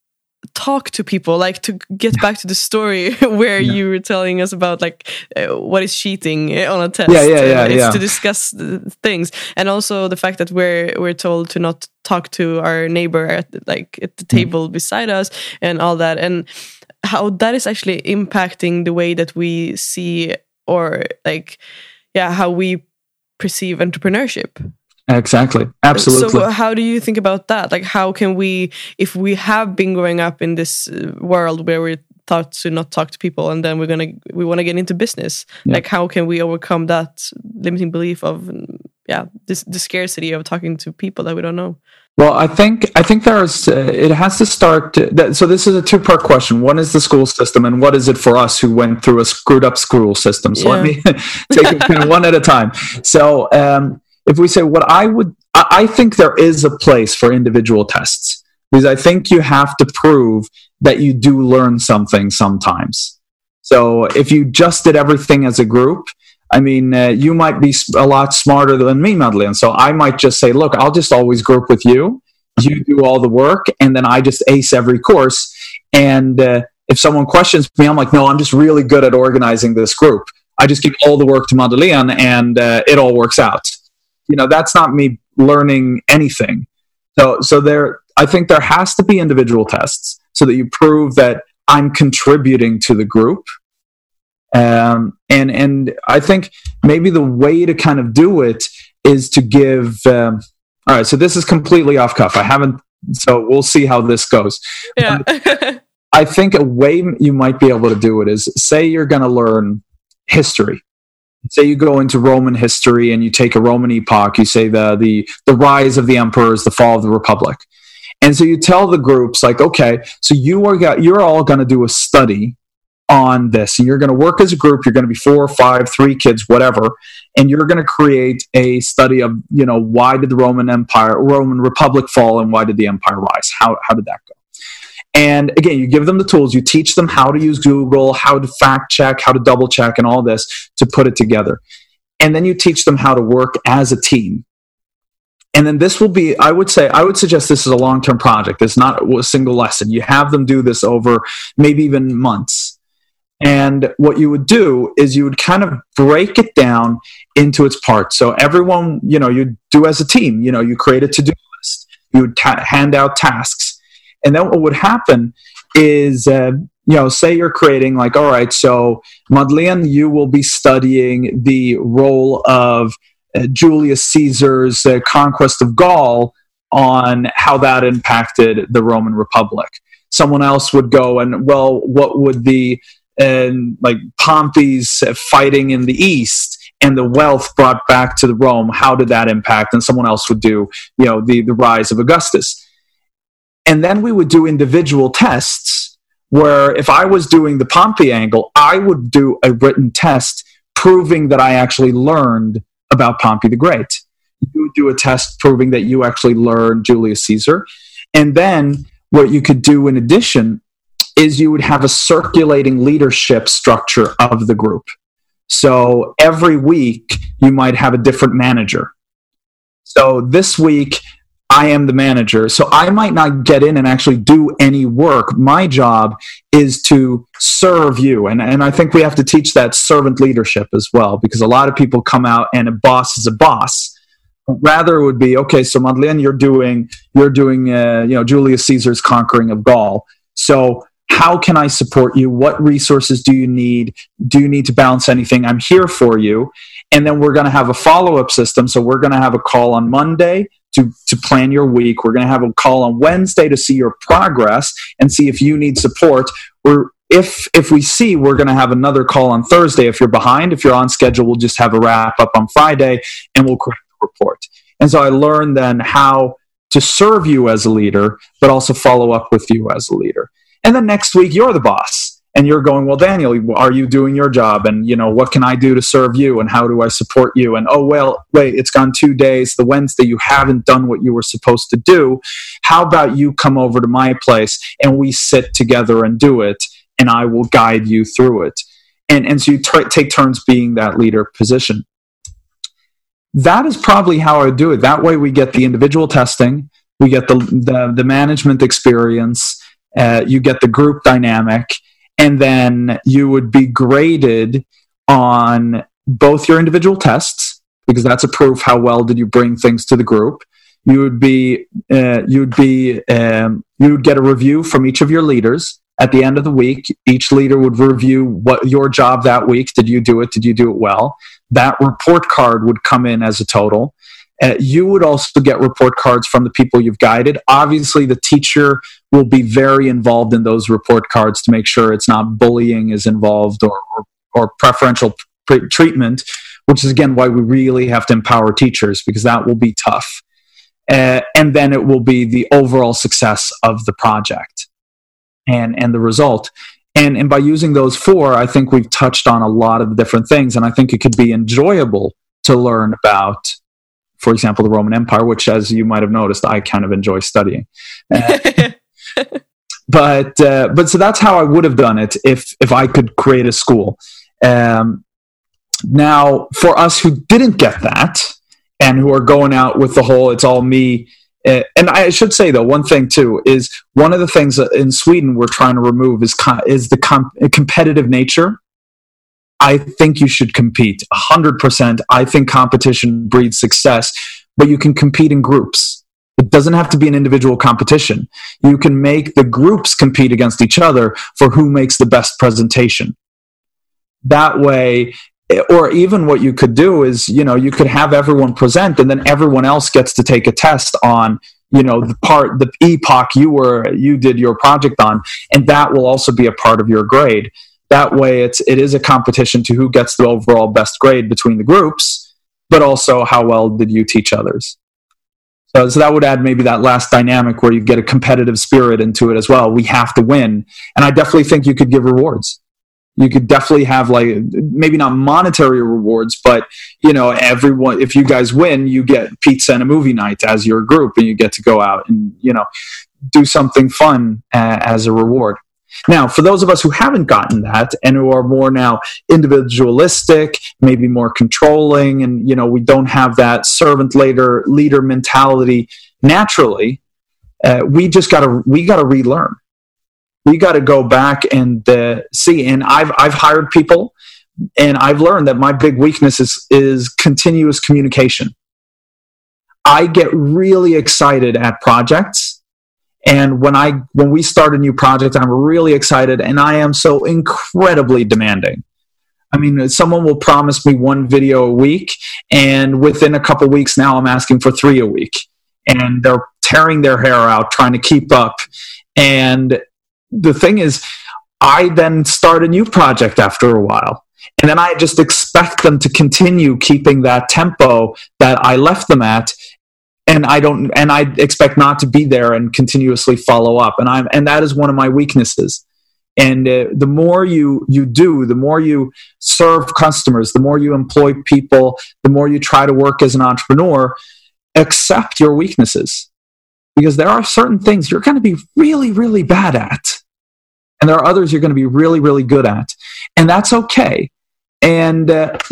talk to people, like to get back to the story where you were telling us about like what is cheating on a test. It's to discuss things, and also the fact that we're told to not talk to our neighbor at the table beside us and all that, and how that is actually impacting the way that we see, or how we perceive entrepreneurship. Exactly. Absolutely. So how do you think about that? Like, how can we, if we have been growing up in this world where we're taught to not talk to people, and then we want to get into business, like how can we overcome that limiting belief of the scarcity of talking to people that we don't know? Well, I think there's it has to start. So this is a two-part question. One is the school system, and what is it for us who went through a screwed up school system? So let me take it kind of one at a time. So if we say I think there is a place for individual tests, because I think you have to prove that you do learn something sometimes. So if you just did everything as a group, I mean, you might be a lot smarter than me, Madeleine. So I might just say, look, I'll just always group with you. You do all the work, and then I just ace every course. And if someone questions me, I'm like, no, I'm just really good at organizing this group. I just give all the work to Madeleine, and it all works out. That's not me learning anything. So I think there has to be individual tests so that you prove that I'm contributing to the group. And I think maybe the way to kind of do it is to give. All right, so this is completely off cuff. So we'll see how this goes. Yeah. I think a way you might be able to do it is, say you're going to learn history. Say you go into Roman history and you take a Roman epoch, you say the rise of the emperors, the fall of the republic. And so you tell the groups, like, okay, so you're all going to do a study on this, and you're going to work as a group. You're going to be 4 or 5, 3 kids, whatever, and you're going to create a study of, why did the Roman Republic fall, and why did the empire rise? How did that go? And again, you give them the tools, you teach them how to use Google, how to fact check, how to double check, and all this to put it together. And then you teach them how to work as a team. And then this will be, I would suggest this is a long-term project. It's not a single lesson. You have them do this over maybe even months. And what you would do is you would kind of break it down into its parts. So everyone, you do as a team, you create a to-do list. You would hand out tasks. And then what would happen is, say you're creating, like, all right, so Madeleine, you will be studying the role of Julius Caesar's conquest of Gaul on how that impacted the Roman Republic. Someone else would go and, well, what would the Pompey's fighting in the East and the wealth brought back to the Rome, how did that impact? And someone else would do, the rise of Augustus. And then we would do individual tests where if I was doing the Pompey angle, I would do a written test proving that I actually learned about Pompey the Great. You would do a test proving that you actually learned Julius Caesar. And then what you could do in addition is you would have a circulating leadership structure of the group. So every week you might have a different manager. So this week, I am the manager, so I might not get in and actually do any work. My job is to serve you. And I think we have to teach that servant leadership as well, because a lot of people come out and a boss is a boss. Rather, it would be, okay, so Madeleine, you're doing Julius Caesar's conquering of Gaul. So how can I support you? What resources do you need? Do you need to balance anything? I'm here for you. And then we're going to have a follow-up system. So we're going to have a call on Monday to plan your week. We're going to have a call on Wednesday to see your progress and see if you need support. Or if we see, we're going to have another call on Thursday. If you're behind, if you're on schedule, we'll just have a wrap up on Friday and we'll correct the report. And so I learned then how to serve you as a leader, but also follow up with you as a leader. And then next week, you're the boss. And you're going, well, Daniel, are you doing your job? And, what can I do to serve you? And how do I support you? And, oh, well, wait, it's gone 2 days. The Wednesday, you haven't done what you were supposed to do. How about you come over to my place and we sit together and do it, and I will guide you through it. And so you take turns being that leader position. That is probably how I would do it. That way we get the individual testing, we get the management experience, you get the group dynamic, and then you would be graded on both your individual tests, because that's a proof how well did you bring things to the group. You would get a review from each of your leaders. At the end of the week, each leader would review what your job that week. Did you do it? Did you do it well? That report card would come in as a total. You would also get report cards from the people you've guided. Obviously, the teacher will be very involved in those report cards to make sure it's not bullying is involved or preferential treatment, which is, again, why we really have to empower teachers, because that will be tough. And then it will be the overall success of the project and the result. And by using those 4, I think we've touched on a lot of the different things, and I think it could be enjoyable to learn about, for example, the Roman Empire, which, as you might have noticed, I kind of enjoy studying. But so that's how I would have done it if I could create a school. Now, for us who didn't get that and who are going out with the whole "it's all me," and I should say, though, one thing too is one of the things in Sweden we're trying to remove is the competitive nature. I think you should compete 100%. I think competition breeds success, but you can compete in groups. It doesn't have to be an individual competition. You can make the groups compete against each other for who makes the best presentation. That way, or even what you could do is, you could have everyone present, and then everyone else gets to take a test on, the epoch you did your project on, and that will also be a part of your grade. That way, it is a competition to who gets the overall best grade between the groups, but also how well did you teach others. So that would add maybe that last dynamic where you get a competitive spirit into it as well. We have to win. And I definitely think you could give rewards. You could definitely have, like, maybe not monetary rewards, but, everyone, if you guys win, you get pizza and a movie night as your group, and you get to go out and, do something fun as a reward. Now, for those of us who haven't gotten that and who are more now individualistic, maybe more controlling, and, we don't have that servant leader mentality naturally, we got to relearn. We got to go back and see. And I've hired people, and I've learned that my big weakness is continuous communication. I get really excited at projects. And when we start a new project, I'm really excited, and I am so incredibly demanding. I mean, someone will promise me 1 video a week, and within a couple weeks now, I'm asking for 3 a week. And they're tearing their hair out trying to keep up. And the thing is, I then start a new project after a while. And then I just expect them to continue keeping that tempo that I left them at. And I expect not to be there and continuously follow up. And that is one of my weaknesses. And the more you do, the more you serve customers, the more you employ people, the more you try to work as an entrepreneur, accept your weaknesses. Because there are certain things you're going to be really, really bad at. And there are others you're going to be really, really good at. And that's okay. And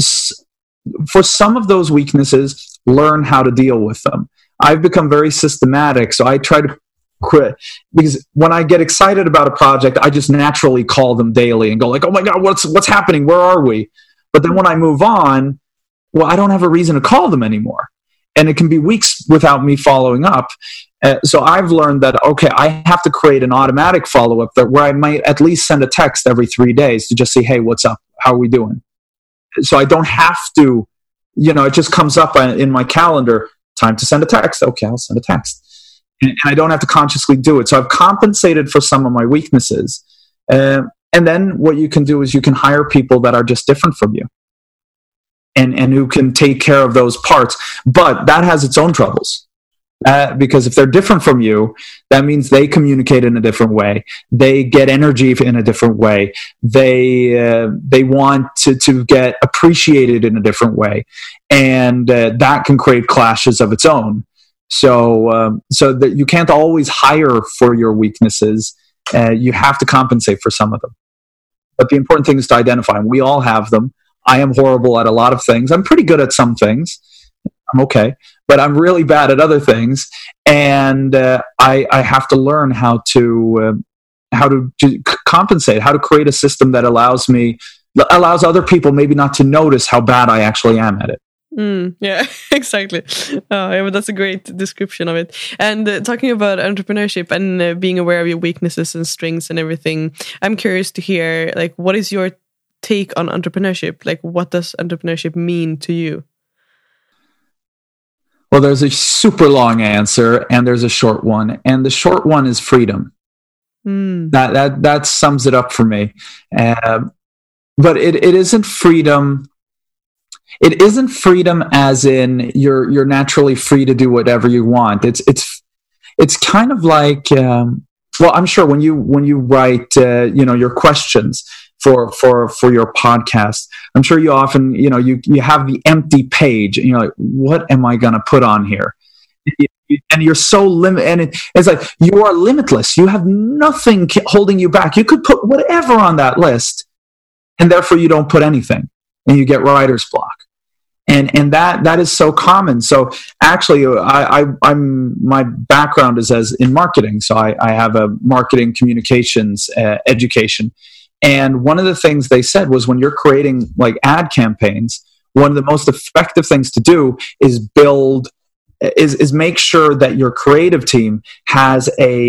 for some of those weaknesses, learn how to deal with them. I've become very systematic, so I try to quit. Because when I get excited about a project, I just naturally call them daily and go like, oh my God, what's happening? Where are we? But then when I move on, well, I don't have a reason to call them anymore. And it can be weeks without me following up. So I've learned that, okay, I have to create an automatic follow-up where I might at least send a text every 3 days to just say, hey, what's up? How are we doing? So I don't have to, it just comes up in my calendar, time to send a text. Okay, I'll send a text. And I don't have to consciously do it. So I've compensated for some of my weaknesses. And then what you can do is you can hire people that are just different from you and who can take care of those parts. But that has its own troubles. Because if they're different from you, that means they communicate in a different way. They get energy in a different way. They want to get appreciated in a different way, and that can create clashes of its own. So that you can't always hire for your weaknesses. You have to compensate for some of them. But the important thing is to identify them. We all have them. I am horrible at a lot of things. I'm pretty good at some things. I'm okay. But I'm really bad at other things, and I have to learn how to compensate, how to create a system that allows other people maybe not to notice how bad I actually am at it. Yeah, exactly. Yeah, but that's a great description of it. And talking about entrepreneurship and being aware of your weaknesses and strengths and everything, I'm curious to hear, like, what is your take on entrepreneurship? Like, what does entrepreneurship mean to you? Well, there's a super long answer and there's a short one. And the short one is freedom. That sums it up for me. But it isn't freedom. It isn't freedom as in you're naturally free to do whatever you want. It's kind of like well, I'm sure when you write your questions for your podcast, I'm sure you often you have the empty page and you're like, what am I going to put on here? And you're so limited, and it's like you are limitless. You have nothing holding you back. You could put whatever on that list, and therefore you don't put anything, and you get writer's block. And that is so common. So actually, I'm my background is as in marketing. So I have a marketing communications education. And one of the things they said was when you're creating like ad campaigns, one of the most effective things to do is make sure that your creative team has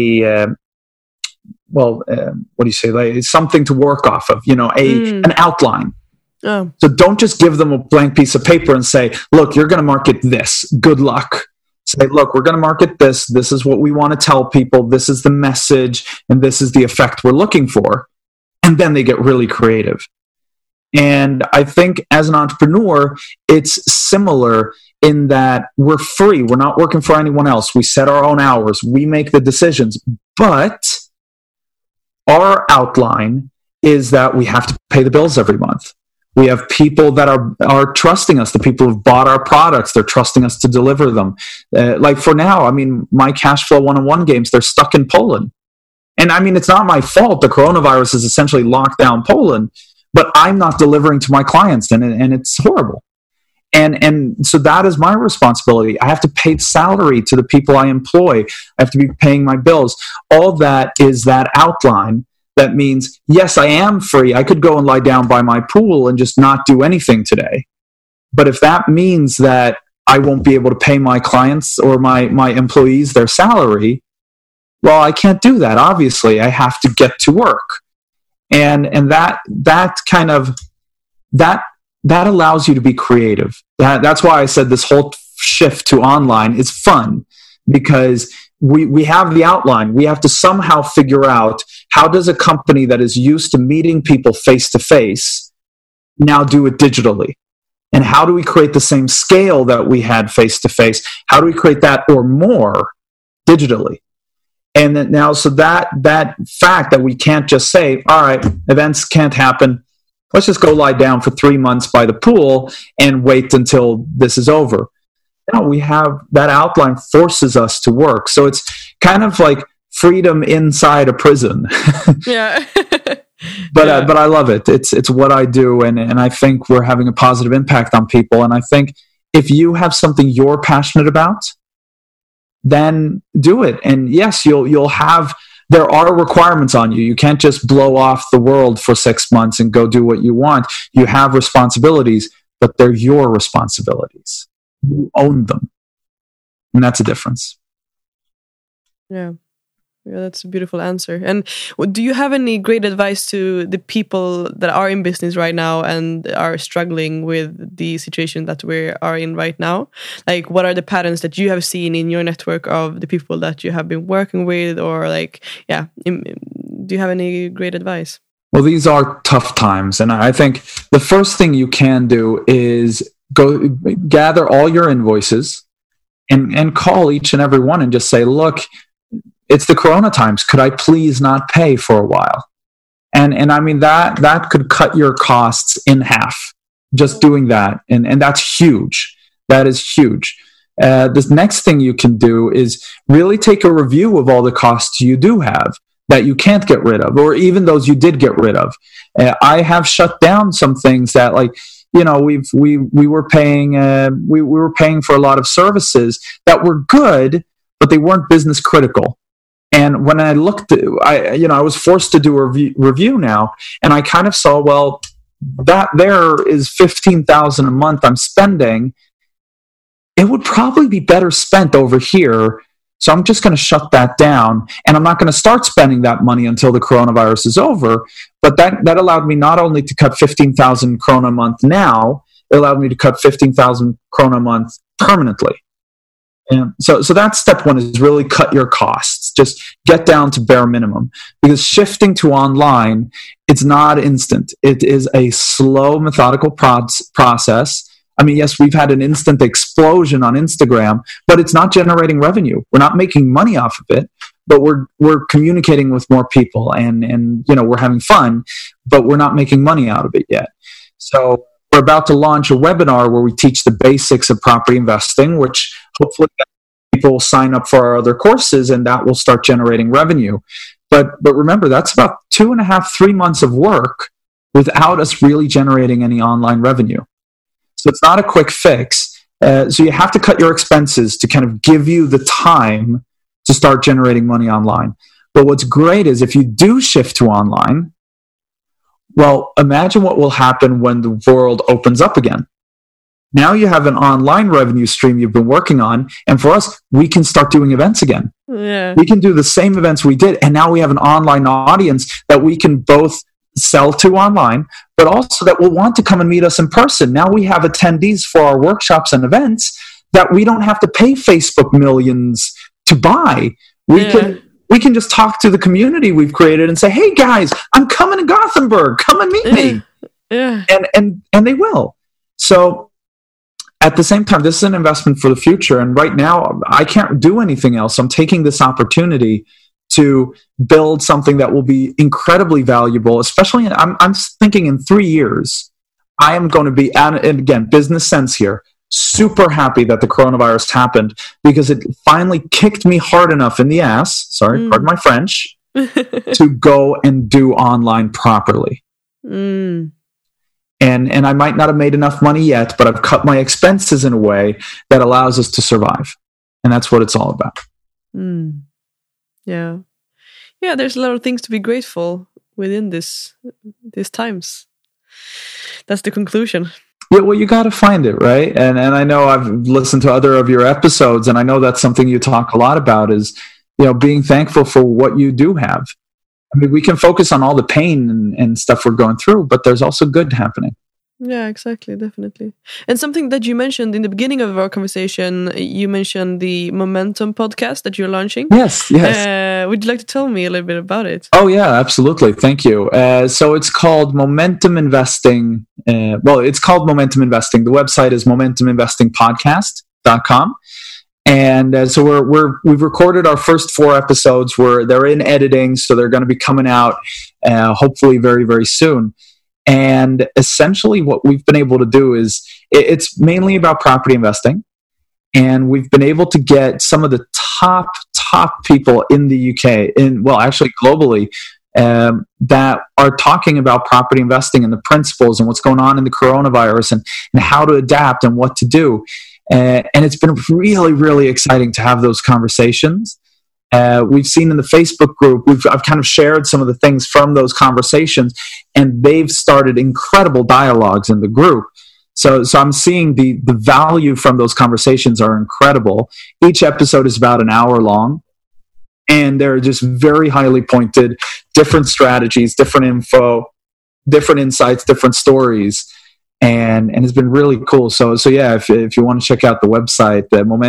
what do you say? Like something to work off of, an outline. Oh. So don't just give them a blank piece of paper and say, look, you're going to market this. Good luck. Say, look, we're going to market this. This is what we want to tell people. This is the message, and this is the effect we're looking for. And then they get really creative. And I think as an entrepreneur, it's similar in that we're free. We're not working for anyone else. We set our own hours. We make the decisions. But our outline is that we have to pay the bills every month. We have people that are trusting us. The people who've bought our products, they're trusting us to deliver them. Like for now, I mean, my Cashflow 101 games, they're stuck in Poland. And I mean, it's not my fault. The coronavirus has essentially locked down Poland, but I'm not delivering to my clients, and it's horrible. And so that is my responsibility. I have to pay salary to the people I employ. I have to be paying my bills. All that is that outline. That means, yes, I am free. I could go and lie down by my pool and just not do anything today. But if that means that I won't be able to pay my clients or my employees their salary, well, I can't do that. Obviously, I have to get to work. And that kind of that allows you to be creative. That's why I said this whole shift to online is fun, because we have the outline. We have to somehow figure out, how does a company that is used to meeting people face to face now do it digitally? And how do we create the same scale that we had face to face? How do we create that or more digitally? And then now, so that fact that we can't just say, all right, events can't happen. Let's just go lie down for 3 months by the pool and wait until this is over. No, we have that outline forces us to work. So it's kind of like freedom inside a prison. Yeah. But I love it. It's what I do, and I think we're having a positive impact on people. And I think if you have something you're passionate about, then do it. And yes, you'll have, there are requirements on you. You can't just blow off the world for 6 months and go do what you want. You have responsibilities, but they're your responsibilities. You own them. And that's a difference. Yeah. Yeah, that's a beautiful answer. And do you have any great advice to the people that are in business right now and are struggling with the situation that we are in right now? Like, what are the patterns that you have seen in your network of the people that you have been working with? Or like, yeah, do you have any great advice? Well, these are tough times. And I think the first thing you can do is go gather all your invoices and call each and every one and just say, look, it's the Corona times. Could I please not pay for a while? And I mean, that could cut your costs in half, just doing that. And that's huge. That is huge. This next thing you can do is really take a review of all the costs you do have that you can't get rid of, or even those you did get rid of. I have shut down some things that, like, we were paying we were paying for a lot of services that were good, but they weren't business critical. And when I looked, I was forced to do a review now, and I kind of saw, well, that there is $15,000 a month I'm spending. It would probably be better spent over here. So I'm just going to shut that down, and I'm not going to start spending that money until the coronavirus is over. But that allowed me not only to cut 15,000 krona a month now, it allowed me to cut 15,000 krona a month permanently. And so that's step one, is really cut your costs. Just get down to bare minimum, because shifting to online, it's not instant. It is a slow, methodical process. I mean, yes, we've had an instant explosion on Instagram, but it's not generating revenue. We're not making money off of it, but we're communicating with more people, and we're having fun, but we're not making money out of it yet. So we're about to launch a webinar where we teach the basics of property investing, which hopefully people will sign up for our other courses, and that will start generating revenue. But remember, that's about 2.5-3 months of work without us really generating any online revenue. So it's not a quick fix. So you have to cut your expenses to kind of give you the time to start generating money online. But what's great is if you do shift to online, well, imagine what will happen when the world opens up again. Now you have an online revenue stream you've been working on, and for us, we can start doing events again. Yeah. We can do the same events we did, and now we have an online audience that we can both sell to online, but also that will want to come and meet us in person. Now we have attendees for our workshops and events that we don't have to pay Facebook millions to buy. We can just talk to the community we've created and say, hey guys, I'm coming to Gothenburg, come and meet me. Yeah. And they will. So at the same time, this is an investment for the future. And right now I can't do anything else. I'm taking this opportunity to build something that will be incredibly valuable, especially I'm thinking in 3 years, I am going to be, and again, business sense here, super happy that the coronavirus happened, because it finally kicked me hard enough in the ass, pardon my French, to go and do online properly. And I might not have made enough money yet, but I've cut my expenses in a way that allows us to survive. And that's what it's all about. Yeah. Yeah, there's a lot of things to be grateful within these times. That's the conclusion. Yeah, well, you got to find it, right? And I know I've listened to other of your episodes, and I know that's something you talk a lot about, is, being thankful for what you do have. I mean, we can focus on all the pain and stuff we're going through, but there's also good happening. Yeah, exactly, definitely. And something that you mentioned in the beginning of our conversation, you mentioned the Momentum podcast that you're launching. Yes. Would you like to tell me a little bit about it? Oh, yeah, absolutely. Thank you. So it's called Momentum Investing. It's called Momentum Investing. The website is momentuminvestingpodcast.com. And so we've recorded our first 4 episodes. They're in editing, so they're going to be coming out hopefully very, very soon. And essentially what we've been able to do is it's mainly about property investing. And we've been able to get some of the top people in the UK, actually globally, that are talking about property investing and the principles and what's going on in the coronavirus and how to adapt and what to do. And it's been really, really exciting to have those conversations. We've seen in the Facebook group, I've kind of shared some of the things from those conversations, and they've started incredible dialogues in the group. So I'm seeing the value from those conversations are incredible. Each episode is about an hour long, and they're just very highly pointed, different strategies, different info, different insights, different stories. And it's been really cool. So yeah, if you want to check out the website,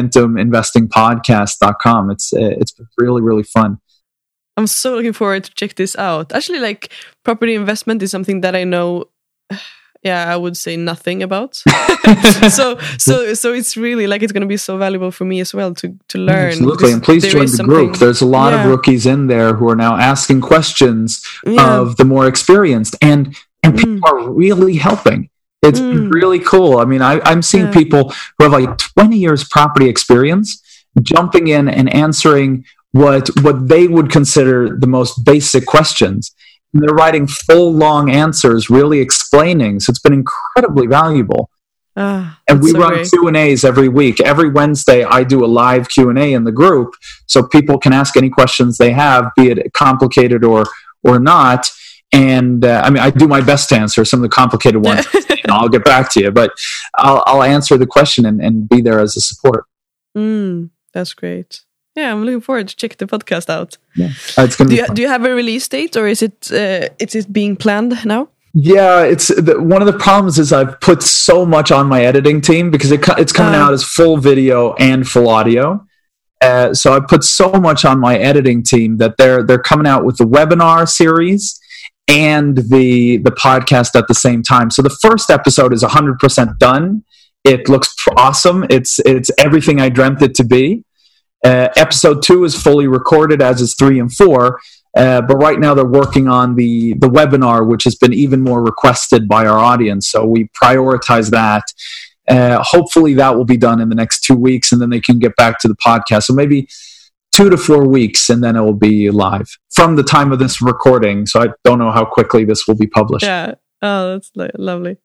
momentuminvestingpodcast.com, it's been really, really fun. I'm so looking forward to check this out. Actually, property investment is something that I know, I would say nothing about. so it's really it's going to be so valuable for me as well to learn. Absolutely, and please join the group. There's a lot of rookies in there who are now asking questions of the more experienced, and people are really helping. It's really cool. I mean, I'm seeing people who have 20 years property experience jumping in and answering what they would consider the most basic questions. And they're writing full, long answers, really explaining. So it's been incredibly valuable. And we run Q&As every week. Every Wednesday, I do a live Q&A in the group so people can ask any questions they have, be it complicated or not. And I do my best to answer some of the complicated ones. I'll get back to you, but I'll answer the question and be there as a support. That's great. Yeah, I'm looking forward to check the podcast out. Yeah, it's gonna be fun. Do you have a release date, or is it being planned now? Yeah, it's one of the problems is I've put so much on my editing team because it's coming out as full video and full audio. So I put so much on my editing team that they're coming out with the webinar series and the podcast at the same time. So the first episode is 100% done. It looks awesome. It's everything I dreamt it to be. Episode 2 is fully recorded, as is 3 and 4. But right now they're working on the webinar, which has been even more requested by our audience. So we prioritize that. Hopefully that will be done in the next 2 weeks, and then they can get back to the podcast. So maybe 2 to 4 weeks, and then it will be live from the time of this recording. So I don't know how quickly this will be published. Yeah. Oh, that's lovely.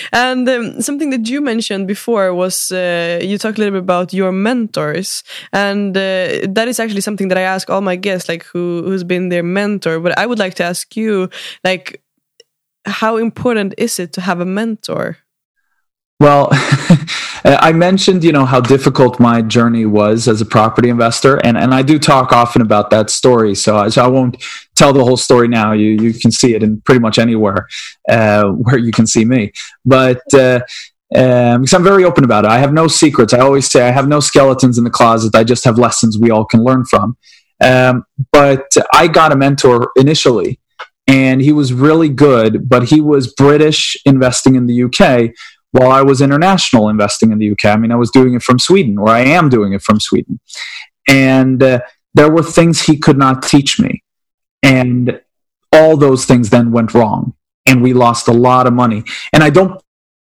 And something that you mentioned before was you talked a little bit about your mentors, and that is actually something that I ask all my guests, like who's been their mentor. But I would like to ask you, like, how important is it to have a mentor? Well, I mentioned, how difficult my journey was as a property investor, and I do talk often about that story. So I won't tell the whole story now. You can see it in pretty much anywhere where you can see me. But because I'm very open about it, I have no secrets. I always say I have no skeletons in the closet. I just have lessons we all can learn from. But I got a mentor initially, and he was really good, but he was British investing in the UK. While I was international investing in the UK. I was doing it from Sweden, or I am doing it from Sweden. And there were things he could not teach me. And all those things then went wrong. And we lost a lot of money. And I don't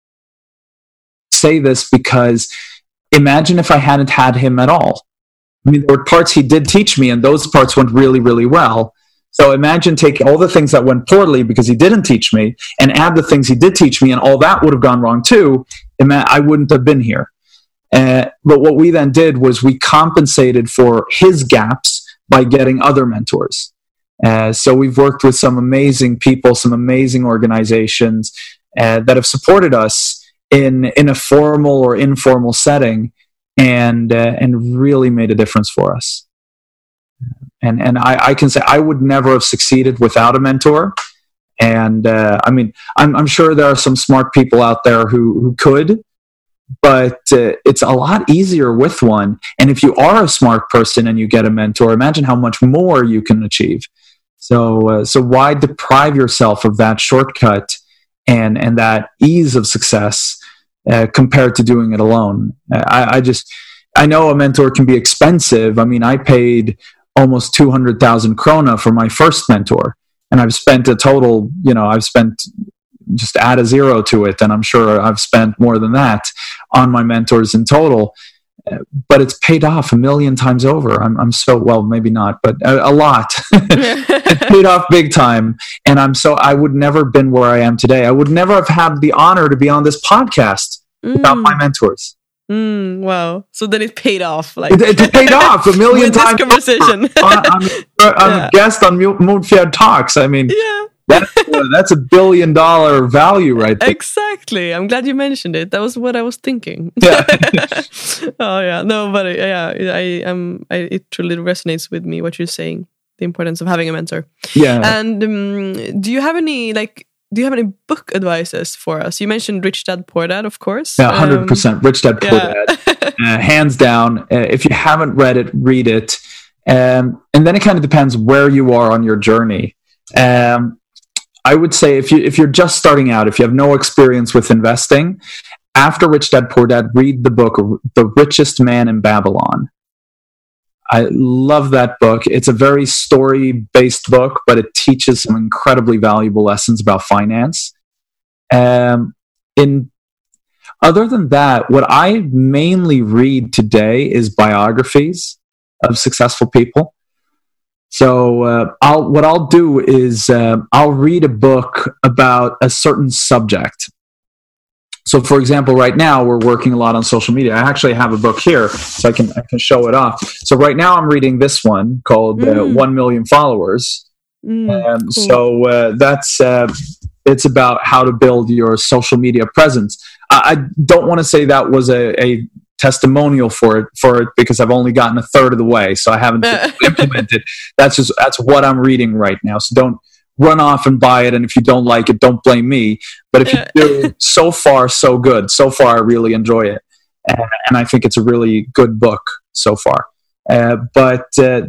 say this because imagine if I hadn't had him at all. There were parts he did teach me, and those parts went really, really well. So imagine taking all the things that went poorly because he didn't teach me and add the things he did teach me, and all that would have gone wrong too. I wouldn't have been here. But what we then did was we compensated for his gaps by getting other mentors. So we've worked with some amazing people, some amazing organizations that have supported us in a formal or informal setting and really made a difference for us. And I can say I would never have succeeded without a mentor. And I'm sure there are some smart people out there who could, but it's a lot easier with one. And if you are a smart person and you get a mentor, imagine how much more you can achieve. So why deprive yourself of that shortcut and that ease of success compared to doing it alone? I know a mentor can be expensive. I paid almost 200,000 krona for my first mentor. And I've spent a total, just add a zero to it. And I'm sure I've spent more than that on my mentors in total. But it's paid off 1 million times over. Well, maybe not, but a lot. It paid off big time. And I would never have been where I am today. I would never have had the honor to be on this podcast without my mentors. Wow. So then it paid off. It paid off 1 million times. This conversation. I'm a guest on Moonfjord Talks. Yeah. That's $1 billion value right there. Exactly. I'm glad you mentioned it. That was what I was thinking. Yeah. Oh yeah. No, but it truly resonates with me what you're saying. The importance of having a mentor. Yeah. And do you have any book advices for us? You mentioned Rich Dad Poor Dad, of course. Yeah, 100%. Rich Dad Poor Dad. Hands down. If you haven't read it, read it. And then it kind of depends where you are on your journey. I would say if you're just starting out, if you have no experience with investing, after Rich Dad Poor Dad, read the book The Richest Man in Babylon. I love that book. It's a very story-based book, but it teaches some incredibly valuable lessons about finance. Other than that, what I mainly read today is biographies of successful people. So what I'll do is I'll read a book about a certain subject. So, for example, right now we're working a lot on social media. I actually have a book here, so I can show it off. So right now I'm reading this one called 1 Million Followers. Cool. So that's it's about how to build your social media presence. I don't want to say that was a testimonial for it because I've only gotten a third of the way, so I haven't implemented. That's what I'm reading right now. So don't run off and buy it, and if you don't like it, don't blame me. But if you do, so far so good. So far, I really enjoy it, and I think it's a really good book so far. But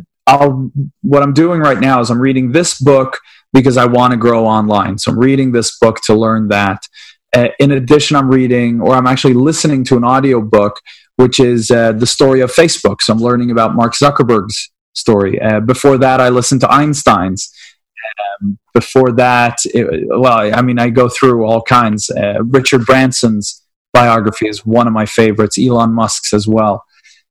what I'm doing right now is I'm reading this book because I want to grow online. So I'm reading this book to learn that. In addition, I'm actually listening to an audiobook, which is the story of Facebook. So I'm learning about Mark Zuckerberg's story. Before that, I listened to Einstein's. Before that, I go through all kinds. Richard Branson's biography is one of my favorites. Elon Musk's as well.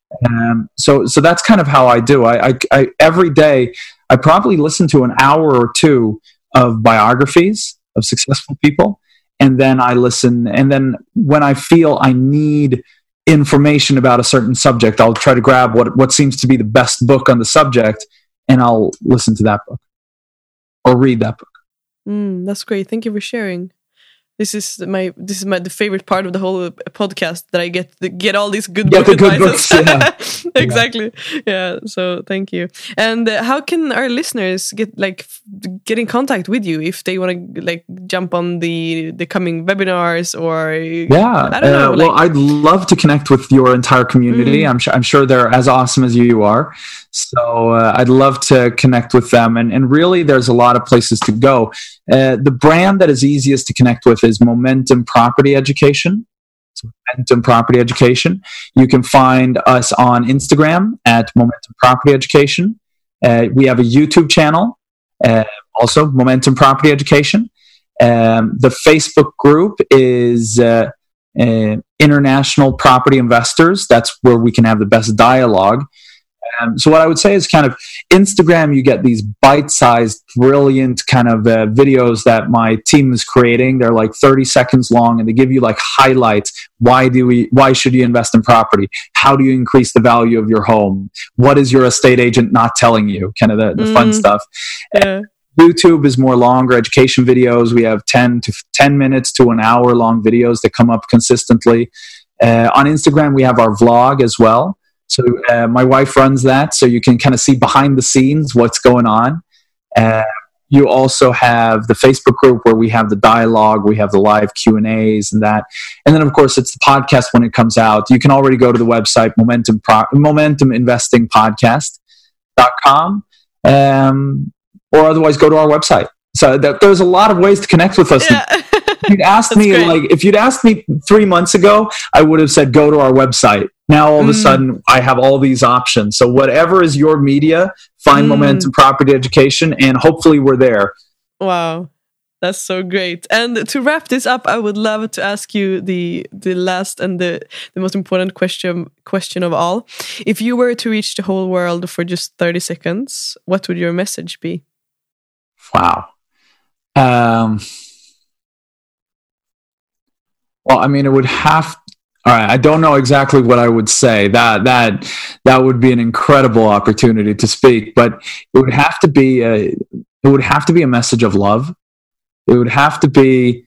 So that's kind of how I do. I every day I probably listen to an hour or two of biographies of successful people, and then I listen. And then when I feel I need information about a certain subject, I'll try to grab what seems to be the best book on the subject, and I'll listen to that book or read that book. That's great. Thank you for sharing. This is the favorite part of the whole podcast, that I get all these good book advices. Good books, yeah. Exactly. Yeah. So thank you. And how can our listeners get in contact with you if they want to jump on the coming webinars or? Yeah. I don't know. Well, I'd love to connect with your entire community. I'm sure they're as awesome as you are. So I'd love to connect with them. And really, there's a lot of places to go. The brand that is easiest to connect with is Momentum Property Education. So Momentum Property Education. You can find us on Instagram at Momentum Property Education. We have a YouTube channel, also Momentum Property Education. The Facebook group is International Property Investors. That's where we can have the best dialogue. So what I would say is kind of Instagram, you get these bite-sized, brilliant kind of videos that my team is creating. They're like 30 seconds long, and they give you highlights. Why should you invest in property? How do you increase the value of your home? What is your estate agent not telling you? Kind of the fun stuff. Yeah. YouTube is more longer education videos. We have 10 minutes to an hour long videos that come up consistently. On Instagram, we have our vlog as well. So my wife runs that, so you can kind of see behind the scenes what's going on. You also have the Facebook group where we have the dialogue, we have the live Q&As and that. And then, of course, it's the podcast when it comes out. You can already go to the website, MomentumInvestingPodcast.com, or otherwise go to our website. So there's a lot of ways to connect with us. Yeah. If you'd asked me 3 months ago, I would have said, go to our website. Now, all of a sudden, I have all these options. So whatever is your media, find Momentum Property Education, and hopefully we're there. Wow. That's so great. And to wrap this up, I would love to ask you the last and the most important question of all. If you were to reach the whole world for just 30 seconds, what would your message be? Wow. Well, I mean, it would have. All right, I don't know exactly what I would say. That would be an incredible opportunity to speak, but it would have to be a message of love. It would have to be,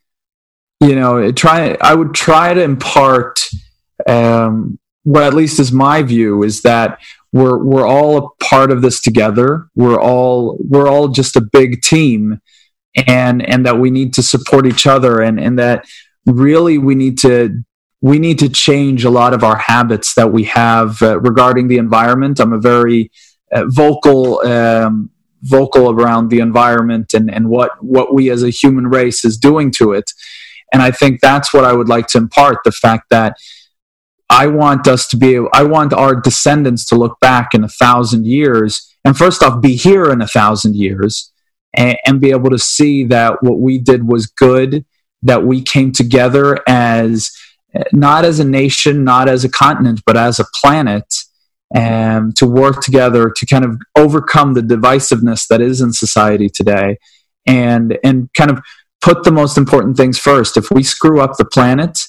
I would try to impart what at least is my view is that we're all a part of this together. We're all just a big team, and that we need to support each other, and that really we need to change a lot of our habits that we have regarding the environment. I'm a very vocal around the environment and what we as a human race is doing to it. And I think that's what I would like to impart, the fact that I want our descendants to look back in 1,000 years, and first off, be here in 1,000 years and be able to see that what we did was good, that we came together as not as a nation, not as a continent, but as a planet, and to work together to kind of overcome the divisiveness that is in society today, and kind of put the most important things first. If we screw up the planet,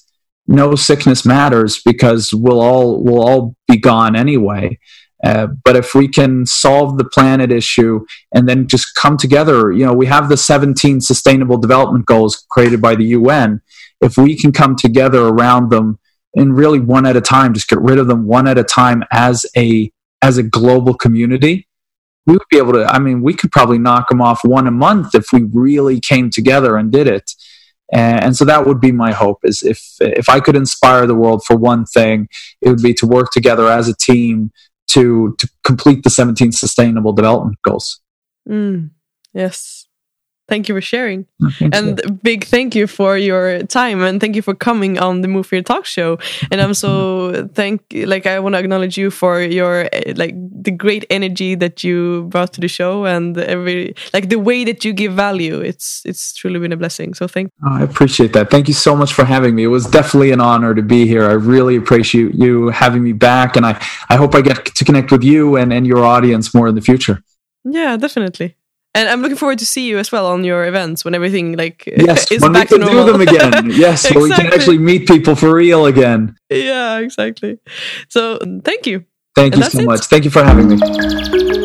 no sickness matters because we'll all be gone anyway. But if we can solve the planet issue and then just come together, we have the 17 Sustainable Development Goals created by the UN. If we can come together around them and really one at a time, just get rid of them one at a time as a global community, we would be able to, we could probably knock them off one a month if we really came together and did it. And so that would be my hope, is if I could inspire the world for one thing, it would be to work together as a team to complete the 17 Sustainable Development Goals. Yes. Thank you for sharing. And big thank you for your time, and thank you for coming on the Move Here Talk Show. And I'm so I want to acknowledge you for your the great energy that you brought to the show, and the way that you give value. It's truly been a blessing. So thank you. I appreciate that. Thank you so much for having me. It was definitely an honor to be here. I really appreciate you having me back, and I hope I get to connect with you and your audience more in the future. Yeah, definitely. And I'm looking forward to see you as well on your events when everything yes, is when back we to can normal. do them again. Yes, Exactly. So we can actually meet people for real again. Yeah, exactly. So thank you. Thank you so much. Thank you for having me.